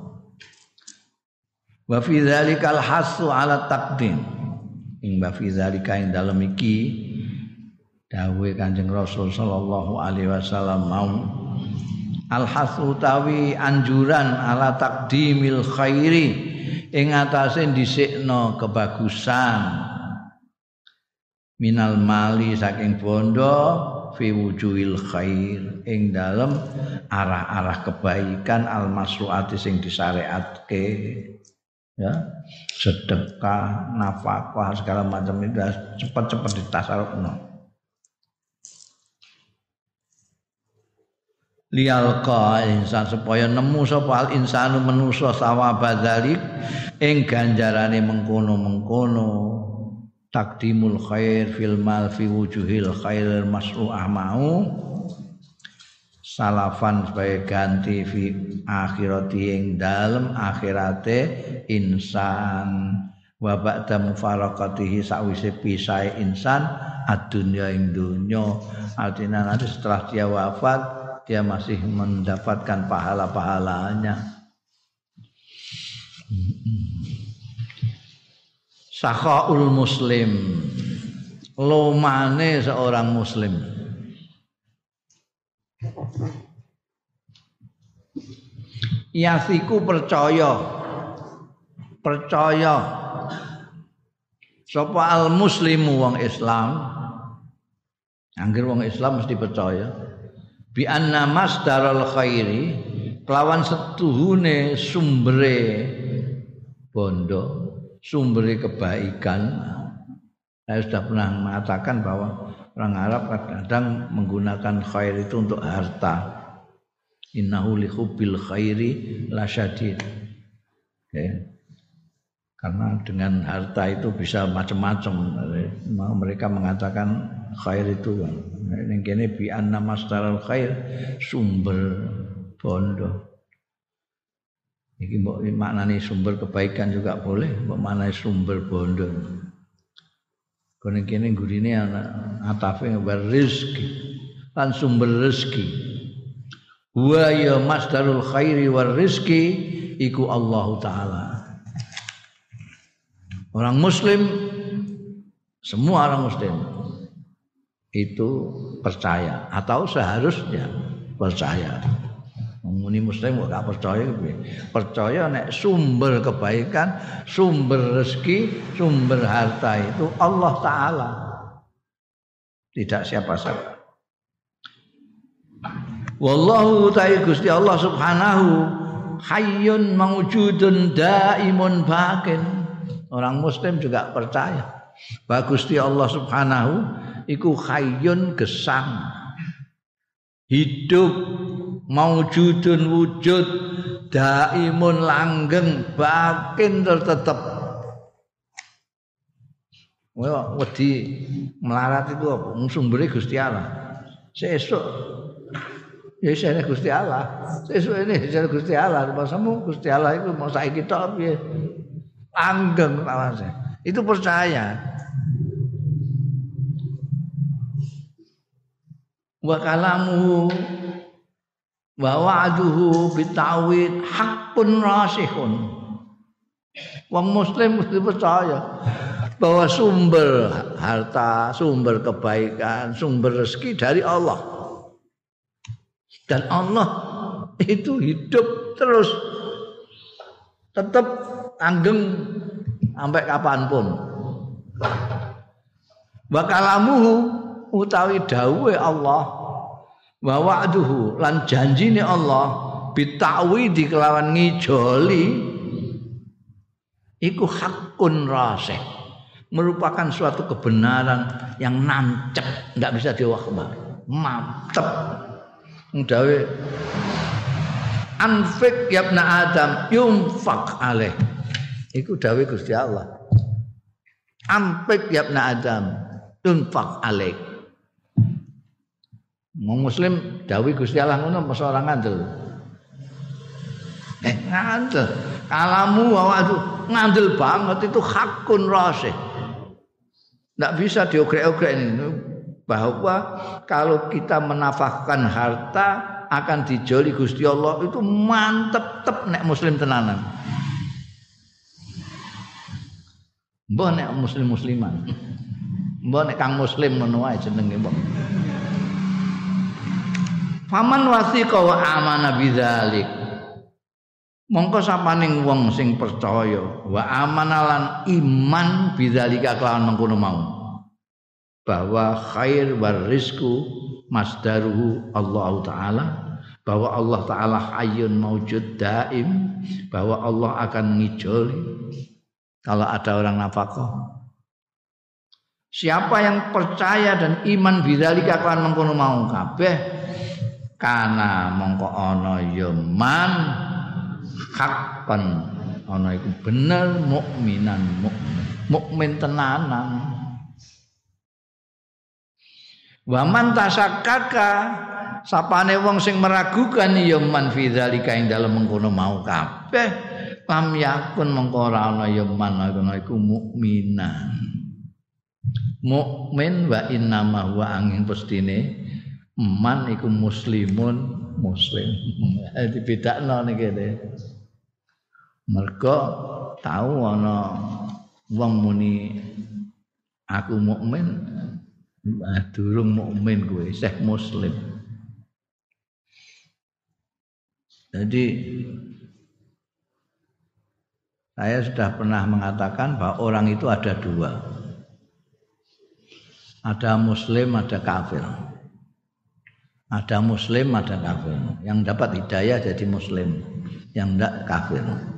Speaker 1: Wa fi dzalikal hasu ala taqdim. Ing fi zalika ing dalem iki dawuhe Kanjeng Rasul sallallahu alaihi wasallam mau al-hasu tawi anjuran ala taqdimil khairi ing atase dhisikno kebagusan minal mali saking bondo fi wujuhil khair ing dalem arah-arah kebaikan al-masruati sing disyariatke. Ya, sedekah, nafkah segala macam itu cepat-cepat ditasarrufno. Liyalqa insan supaya nemu sapa al insanu manusa sawaba dzalik ing ganjarane mengkono-mengkono takdimul khair fil mal fi wujuhil khair masru'ah mau salafan sebagai ganti fi akhirati ing dalem akhirate insan wa ba'da mufaraqatihi sakwise pisahe insan adunya ing dunya artinya nanti setelah dia wafat dia masih mendapatkan pahala-pahalanya. Sakhaul muslim lomane seorang muslim yasiku percaya sapa al muslimu wong Islam anggere wong Islam mesti percaya bi anna masdaral khairi kelawan setuhune sumbere bondo sumbere kebaikan. Saya sudah pernah mengatakan bahwa orang Arab kadang menggunakan khair itu untuk harta. Innahu li hubbil khairi lasyadid. Okay. Karena dengan harta itu bisa macam-macam. Mereka mengatakan khair itu ning kene bi anna masdaral khair sumber bondo. Iki mbok maknane sumber kebaikan juga boleh, mbok maknane sumber bondo. Kono kene gurine ana atafe rezeki lan sumber rezeki. Wa ya masdarul khairi war rizki iku Allah taala. Orang muslim semua orang muslim itu percaya atau seharusnya percaya. Muni muslim kok gak percaya piye? Percaya nek sumber kebaikan, sumber rezeki, sumber harta itu Allah taala. Tidak siapa-siapa. Wallahu ta'ala Gusti Allah subhanahu hayyun mawjudun daimun bakin. Orang muslim juga percaya bahwa Gusti Allah Subhanahu iku hayyun gesang, hidup, mawjudun wujud, daimun langgeng, bakin tetep. Wedi melarat itu apa? Sumbere Gusti Allah. Sesuk ya isine Gusti Allah. Sesuk ini isine Gusti Allah. Masamu Gusti Allah itu mau saiki tok piye? Langgeng awase. Itu percaya. Wa kalamuhu wa wa'duhu bitawhid haqqun rasihun. Wong muslim mesti percaya bahwa sumber harta, sumber kebaikan, sumber rezeki dari Allah. Dan Allah itu hidup terus, tetap langgeng sampai kapanpun. Wa kalamuhu utawi dawuhe Allah, wa wa'duhu lan janjine Allah bitawidi kelawan ngijoli iku hakun rasih, merupakan suatu kebenaran yang nancep, enggak bisa diwakbar, mantep. Dawe anfik ya ibna Adam yunfaq alaih, iku dawe Gusti Allah. Anfik ya ibna Adam yunfaq alaih. Wong muslim dawe Gusti Allah ngono apa ora ngandel? Ngandel. Kalamu waduh ngandel banget, itu hakun rasih. Tidak bisa diogrek-ogrek ini, bahwa kalau kita menafkahkan harta akan dijoli Gusti Allah itu mantep tep nek muslim tenanan. Mbah nek muslim-musliman. Mbah nek kang muslim ngono wae jenenge mbah. Faman wasiqa wa amana bidzalik. Mongko sapaning wong sing percaya wa amanalan iman bidzalika kelawan mengkono mau, bahwa khair war rizku masdaruhu Allah Ta'ala, bahwa Allah Ta'ala hayyun maujud daim, bahwa Allah akan ngijoli kalau ada orang nafkah. Siapa yang percaya dan iman bidzalika kelawan mengkono mau kabeh, kana mongko ana ya man hakkan ana iku bener mukminan mukmin tenanan. Wa man tasakkaka sapane wong sing meragukan ya man fi dzalika ing dalem mengkono mau kabeh lam yakun mengko ora ana ya man iku mukminan. Mukmin wa innama huwa angin pestine man iku muslimun muslim. Dibedakno niki kene. Mergo tahu ana wong muni aku mukmin, durung mukmin kowe, isih muslim. Jadi saya sudah pernah mengatakan bahwa orang itu ada dua. Ada muslim, ada kafir. Ada muslim, ada kafir. Yang dapat hidayah jadi muslim, yang enggak kafir.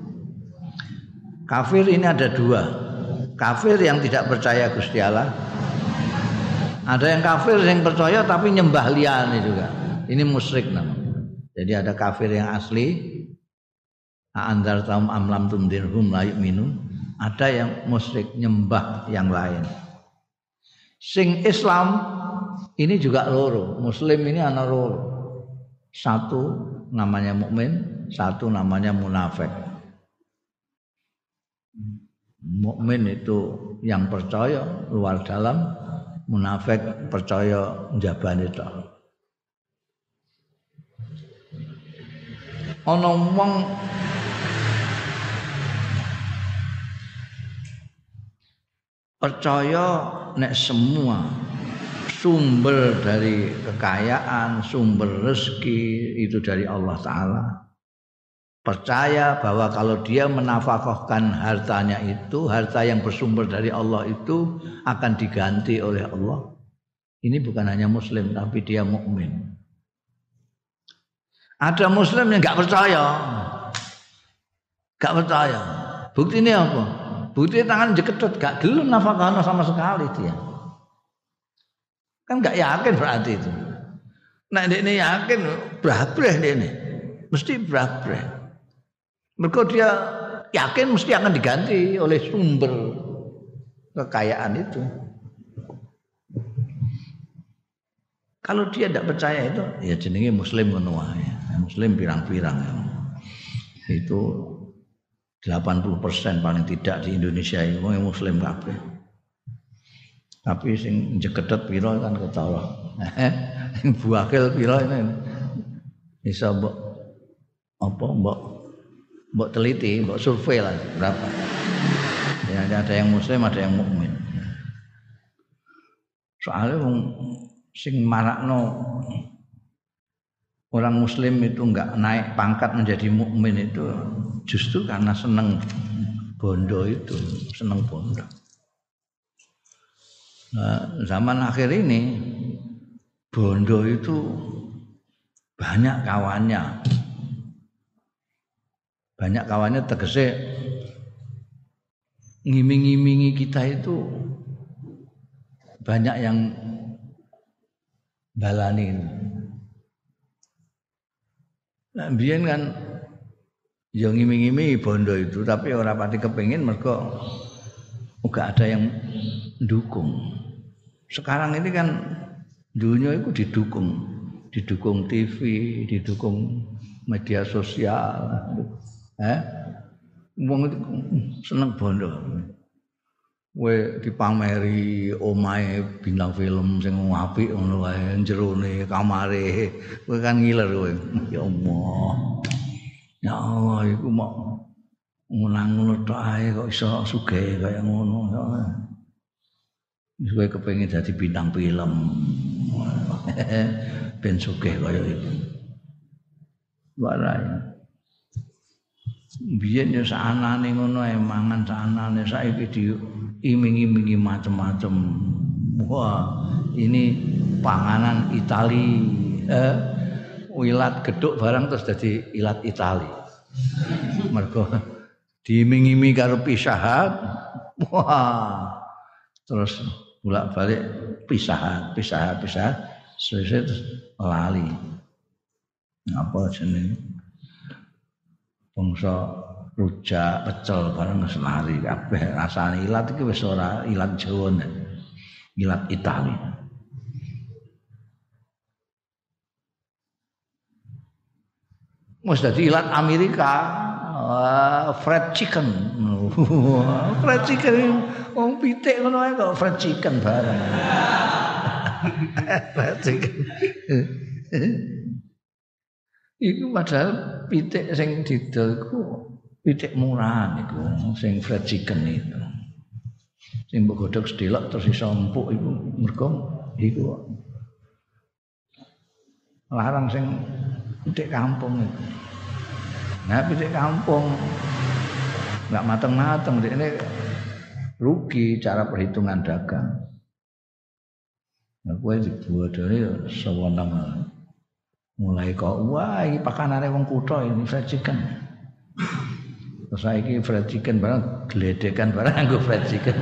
Speaker 1: Kafir ini ada dua. Kafir yang tidak percaya Gusti Allah. Ada yang kafir yang percaya tapi nyembah liyane juga. Ini musyrik namanya. Jadi ada kafir yang asli, a'andzartum am lam tundirhum la yu'minun. Ada yang musyrik nyembah yang lain. Sing Islam ini juga loro. Muslim ini ana loro. Satu namanya mukmin, satu namanya munafik. Mukmin itu yang percaya luar dalam, munafik percaya njabane tok. Ana wong percaya nek semua sumber dari kekayaan, sumber rezeki itu dari Allah Ta'ala. Percaya bahwa kalau dia menafkahkan hartanya itu, harta yang bersumber dari Allah itu akan diganti oleh Allah. Ini bukan hanya muslim, tapi dia mukmin. Ada muslim yang enggak percaya. Gak percaya. Buktinya apa? Buktinya tangan jekedut, gak gelem nafakahno sama sekali dia. Kan gak yakin berarti itu. Nek dekne yakin brabreh dekne. Mesti brabreh. Mergo dia yakin mesti akan diganti oleh sumber kekayaan itu. Kalau dia tidak percaya itu, ya jenenge muslim ngono wae. Muslim pirang-pirang. Itu 80% paling tidak di Indonesia ini muslim kabeh. Tapi sing jegedet pira kan ketawa. Sing buakil pira ini iso mbok teliti, mbok survei lah berapa. Ya ada yang muslim, ada yang mukmin. Soalnya sing marakno orang muslim itu enggak naik pangkat menjadi mukmin itu justru karena seneng bondo itu, seneng bondo. Nah, zaman akhir ini bondo itu banyak kawannya. Banyak kawannya tegese ngiming-ngimingi kita itu banyak yang balani. Nah, biyen kan ya ngiming-ngimingi bondo itu, tapi ora pati kepengin mergo uga ada yang dukung. Sekarang ini kan dunia itu didukung TV, didukung media sosial. Wong itu seneng bondo. Kowe dipameri omahe bintang film sing apik ngono wae, jerone kamare, kowe kan ngiler kowe. Ya Allah. Ya Allah iku mok ngono tok ae kok iso sugih kaya ngono. Wis kowe kepengin dadi bintang film. Ben sugih kaya iku. Warai. Biyen ya saanane ngono ae mangan saanane, saiki diiming-imingi macam-macam. Wah, ini panganan Itali. Ilat geduk barang terus jadi ilat Itali. Mergo diiming-imingi karo pisahat. Wah. Terus bolak-balik pisahat. Sesuk lali. Apa jenenge? Bangsa rujak, pecel bareng wis lari kabeh. Rasane ilat iki wis ora ilat Jawa, ilat Itali. Wis dadi ilat Amerika, fried chicken. Fried chicken wong pitik ngono ae kok fried chicken bareng. Fried chicken. Iku padahal pitik sing didol iku pitik murahan iku sing fried chicken itu. Sing mbok godhog sedelok terus iso empuk iku mergo iku. Larang sing pitik kampung itu. Nah pitik kampung enggak mateng-mateng ini rugi cara perhitungan dagang. Nah kowe dibodoni sewenang mulai kok wah iki pakanane wong kutha ini fried chicken. Terus saiki fried chicken barang gledekan barang nggo fried chicken.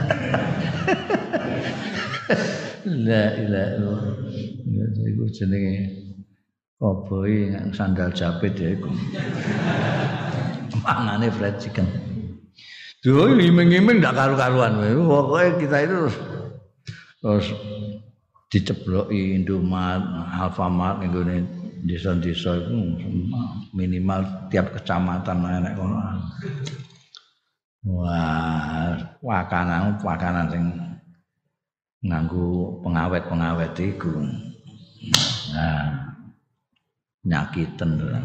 Speaker 1: La ilaha illallah. Ya iku jenenge koboi sandal japit ya iku. Mangane fried chicken. Duh iming-iming ndak karu-karuan kowe. Pokoke kita itu terus dicebloki Indomaret, Alfamart nggone desa-desa iku minimal tiap kecamatan enek kono. Wah, pakanan sing nganggo pengawet iku. Nah, nyakiten kan.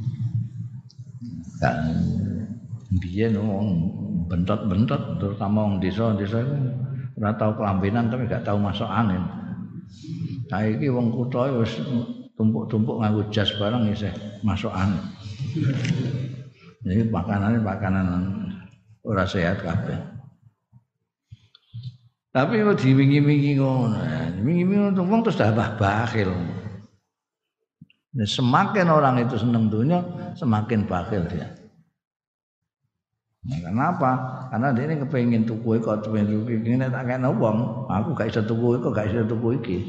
Speaker 1: Kan biyen wong bentot-bentot terutama wong desa-desa iku ora tau kelambenan tapi gak tau masuk angin. Saiki wong kutha wis tumpuk-tumpuk nganggo jas barang isih masuk angin. Jadi makanan ora sehat kabeh. Tapi kok diwingi-wingi ngono. Wingi-wingi wong terus tambah bakhil. Semakin orang itu senang dunia, semakin bakhil dia. Nah, kenapa? Karena dia ini kepengin tuku kok kepengin tuku iki nek tak kene wong, aku gak iso tuku kok gak iso tuku iki.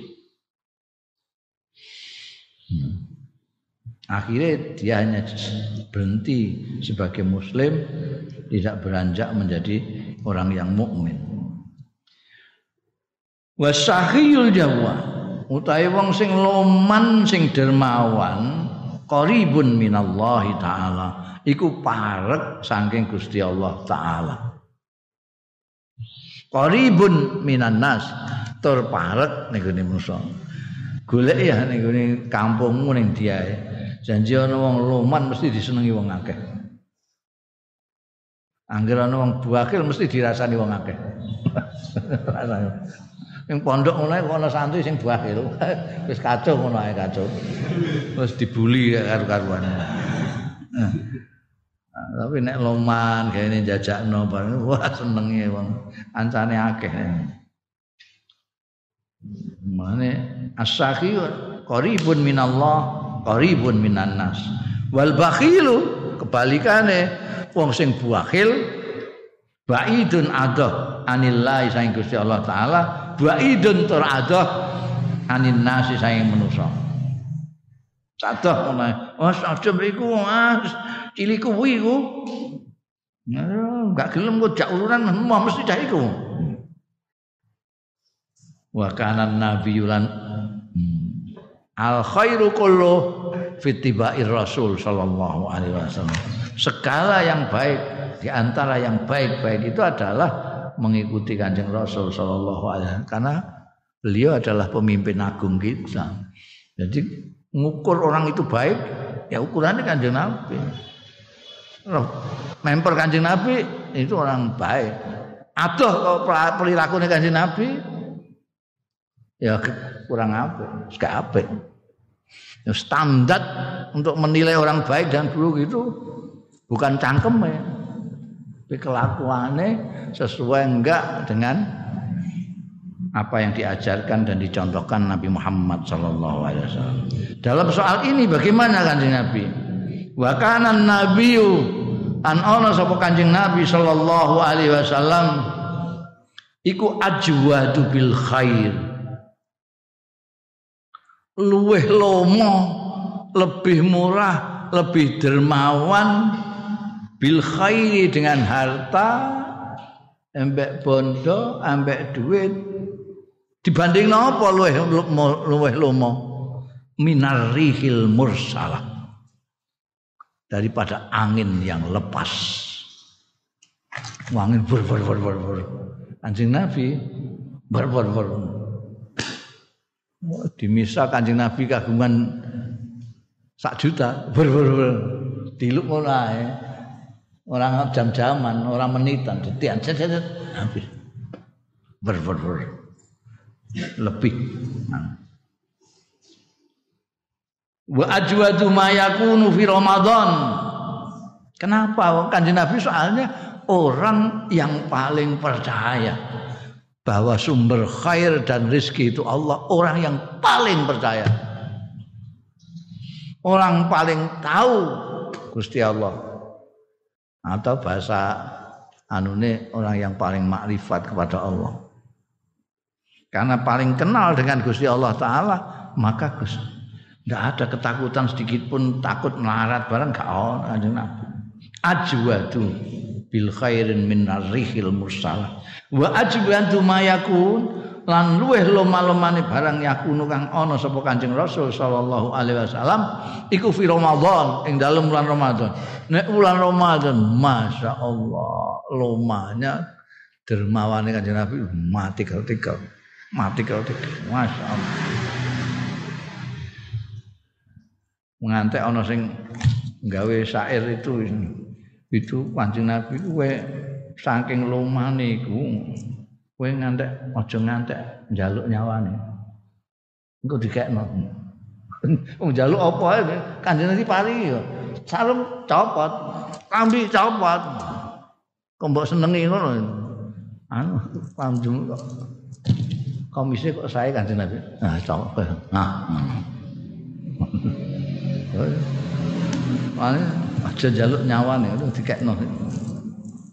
Speaker 1: Akhirnya dia hanya berhenti sebagai muslim, tidak beranjak menjadi orang yang mukmin. Wasahiyul jawa utahe wong sing loman sing dermawan qaribun minallahi taala iku parek saking Gusti Allah taala. Qaribun minan nas tur parek ning gone manusa. Golek ya ning gone kampungmu ning diae. Janji ana wong loman mesti disenengi wong akeh. Angger ana wong buakil mesti dirasani wong akeh. Ning pondok ngono kok ana santri sing buakil. Wis kacau ngono ae kacau. Wis dibuli karo-karuan. Tapi nek loman gaene jajakno bareng wah senenge wong. Kancane akeh. Mane as-sakhi qaribun minallah, qaribun minan nas. Wal bakhilu kebalikane wong sing buakhil baidun adoh anillahi saing Gusti Allah taala, baidun tur adoh anin nasi saing manusa. Sadoh ngono. Oh sadem iku cilik kuwi iku. Enggak gelem kok jak urunan mesti dah iku. Wa kana nabiyulan al khairu kullu fi tibair rasul sallallahu alaihi wasallam. Segala yang baik di antara yang baik-baik itu adalah mengikuti Kanjeng Rasul sallallahu alaihi wasallam karena beliau adalah pemimpin agung kita. Jadi ngukur orang itu baik ya ukurannya Kanjeng Nabi. Memper Kanjeng Nabi itu orang baik. Adoh kalau perilakunya Kanjeng Nabi ya kurang apik, gak apik. Ya, standar untuk menilai orang baik dan buruk itu bukan cangkeme, tapi kelakuannya sesuai enggak dengan apa yang diajarkan dan dicontohkan Nabi Muhammad sallallahu alaihi wasallam. Dalam soal ini bagaimana Kanjeng Nabi? Wa kana nabiyyu an ana sapa Kanjeng Nabi sallallahu alaihi wasallam iku ajwadu bil khair. Luweh lomo, lebih murah, lebih dermawan bil khairi dengan harta, ambek bondo, ambek duit. Dibanding napa luweh lomo? Minar rihil mursalah. Daripada angin yang lepas. Angin ber. Kanjeng Nabi ber. Dimisa Kanjeng Nabi kagungan 1 juta ber. Diluk ngono ae. Orang jam-jaman, orang menitan, detian habis. Ber. Lebih. Wa ajwadu ma yakunu fi Ramadan. Kenapa? Kanjeng Nabi soalnya orang yang paling percaya bahwa sumber khair dan rezeki itu Allah, orang yang paling percaya. Orang paling tahu Gusti Allah. Atau bahasa anune orang yang paling makrifat kepada Allah. Karena paling kenal dengan Gusti Allah taala, maka tidak ada ketakutan sedikit pun takut melarat barang gak ono Kanjeng Nabi. Ajwadu bil khairin min arrihil mursalah. Wa ajwadu ma yakun lan luweh loma-lomane barang yakunu kang ana sapa Kanjeng Rasul sallallahu alaihi wasallam iku fi Ramadan ing dalem bulan Ramadan. Nek bulan Ramadan masyaallah lomanya dermawane Kanjeng Nabi mati ketika. Masyaallah. Ngantek ana sing gawe syair itu Kanjeng Nabi kuwe saking lumane iku kowe ngantek aja ngantek njaluk nyawane. Engko dikekno. Wong njaluk apa ae Kanjeng Nabi paringi yo. Sarung copot, kambi copot. Kok mbok senengi ngono. Anu panjung kok. Komise kok sae Kanjeng Nabi. Nah, copot. Nah. Aja njaluk nyawane dikekno.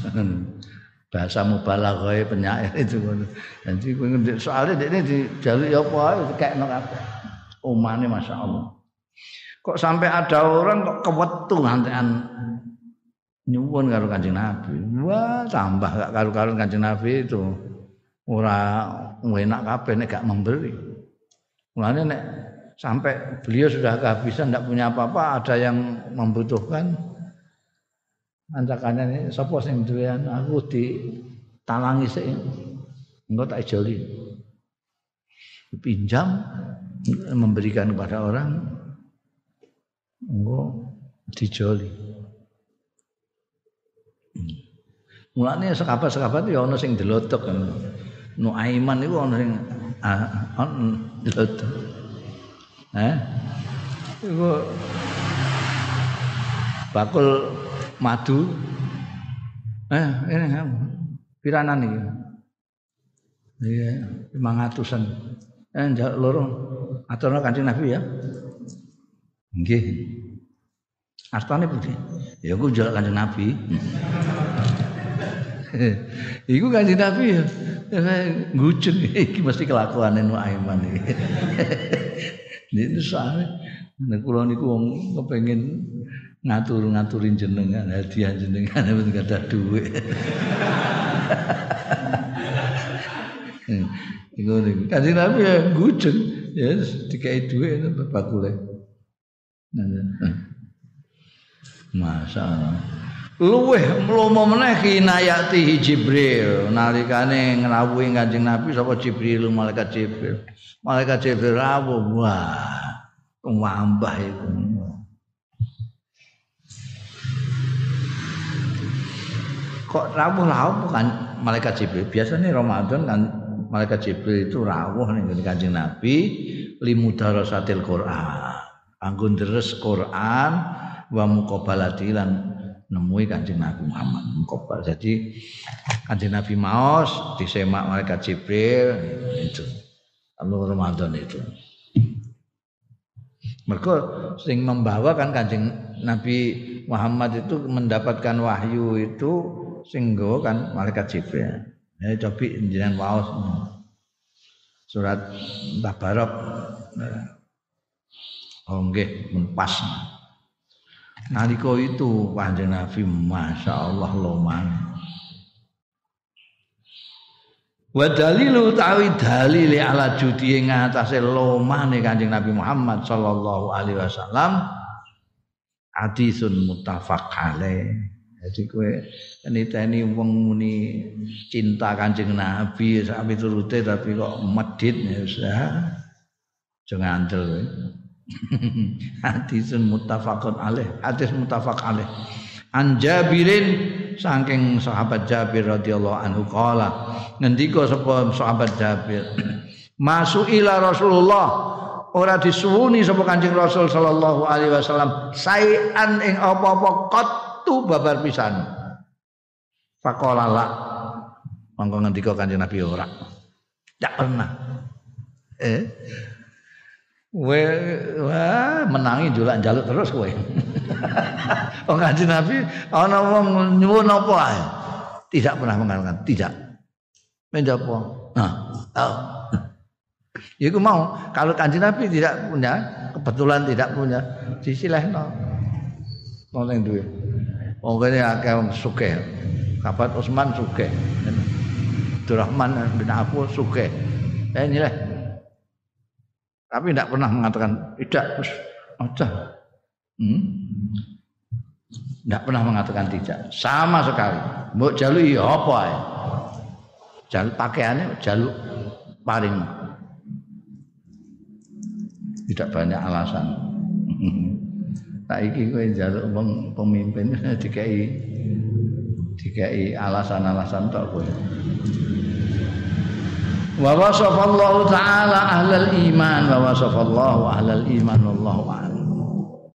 Speaker 1: Bahasa mubalaghah penyair itu. Jadi soalnya ini dijaluk apa dikekno kabeh. Umane masyaallah. Kok sampai ada orang kok kewetu ngantekan nyuwun karo Kanjeng Nabi. Wah, tambah gak karo-karo Kanjeng Nabi itu. Ora enak kabeh nek gak memberi. Mulane nek sampai beliau sudah kehabisan ndak punya apa-apa, ada yang membutuhkan. Ancakannya ini sapa sing duwean aku ditalangi sik. Engko tak ijoli. Pinjam memberikan kepada orang engko dijoli. Mulane sekabat-sekabat ya ana sing delotok kan. Nuaiman iku ana sing delotok. Iku bakul madu. Ini piranan iki. Iya, 500-an. Njaluk loro. Aturna Kanjeng Nabi ya. Nggih. Artane pundi? Ya aku njaluk Kanjeng Nabi. Iku Kanjeng Nabi ya. Ngucun iki mesti kelakuane Nuaiman iki. Ini soalnya nek kula niku wong kepengin ngatur-ngaturin jenengan, hadiah jenengan mboten gadah dhuwit. Iku niku. Kanjeng Nabi ya ngucun ya dikai dhuwit bakule. Masyaallah. Luweh mlomo meneh kinayati Jibril nalikane ngrawuhi Kanjeng Nabi sapa Jibril malaikat Jibril. Malaikat Jibril rawuh wah wambah itu. Kok rawuh kan malaikat Jibril. Biasanya Ramadan kan malaikat Jibril itu rawuh ning Kanjeng Nabi limudarasatil Quran. Anggo deres Quran wa muqabalati lan nemui Kanjeng Nabi Muhammad muqabal. Jadi Kanjeng Nabi maos disemak malaikat Jibril itu. Allah Ramadan itu. Mergo sing membawa kan Kanjeng Nabi Muhammad itu mendapatkan wahyu itu sing nggawa kan malaikat Jibril. Ya cobi jenengan waos surat Tabarok. Oh nggih pas. Nalika itu Kanjeng Nabi masyaallah loman. Wa dalilu tawi dalile ala judi ing atase lomane Kanjeng Nabi Muhammad sallallahu alaihi wasallam hadisun muttafaq alaih. Jadi kowe niteni wong muni cinta Kanjeng Nabi sak piturute tapi kok medhit ya usah. Aja ngandel kowe. Hadisun muttafaqun alaih, hadis muttafaq alaih. An Jabirin saking sahabat Jabir radhiyallahu anhu qala ngendika sapa sahabat Jabir masuila Rasulullah ora disuwuni sapa Kanjeng Rasul sallallahu alaihi wasallam saean ing apa-apa qattu babar pisan faqala la mangko ngendika Kanjeng Nabi ora ndak pernah wah menangi julak njaluk terus kowe. Wong Kanjeng Nabi ana wong nyuwun apa ae. Tidak pernah mengatakan tidak. Menjapa? Iku mau kalau Kanjeng Nabi tidak punya, kebetulan tidak punya, disilehno. Wong sing duwe. Wong kene akeh wong sugih. Sahabat Utsman sugih. Abdurrahman bin Auf sugih. Nyileh. Tapi tidak pernah mengatakan tidak, aja. Tidak pernah mengatakan tidak, sama sekali. Mbok jaluk ya apa ae. Jaluk pakaiannya, jaluk paring. Tidak banyak alasan. Saiki kowe jaluk wong pemimpin dikai alasan-alasan tok kowe. Wa wasafallahu ta'ala ahlal iman wa wasafallahu ahlal iman wallahu a'lam.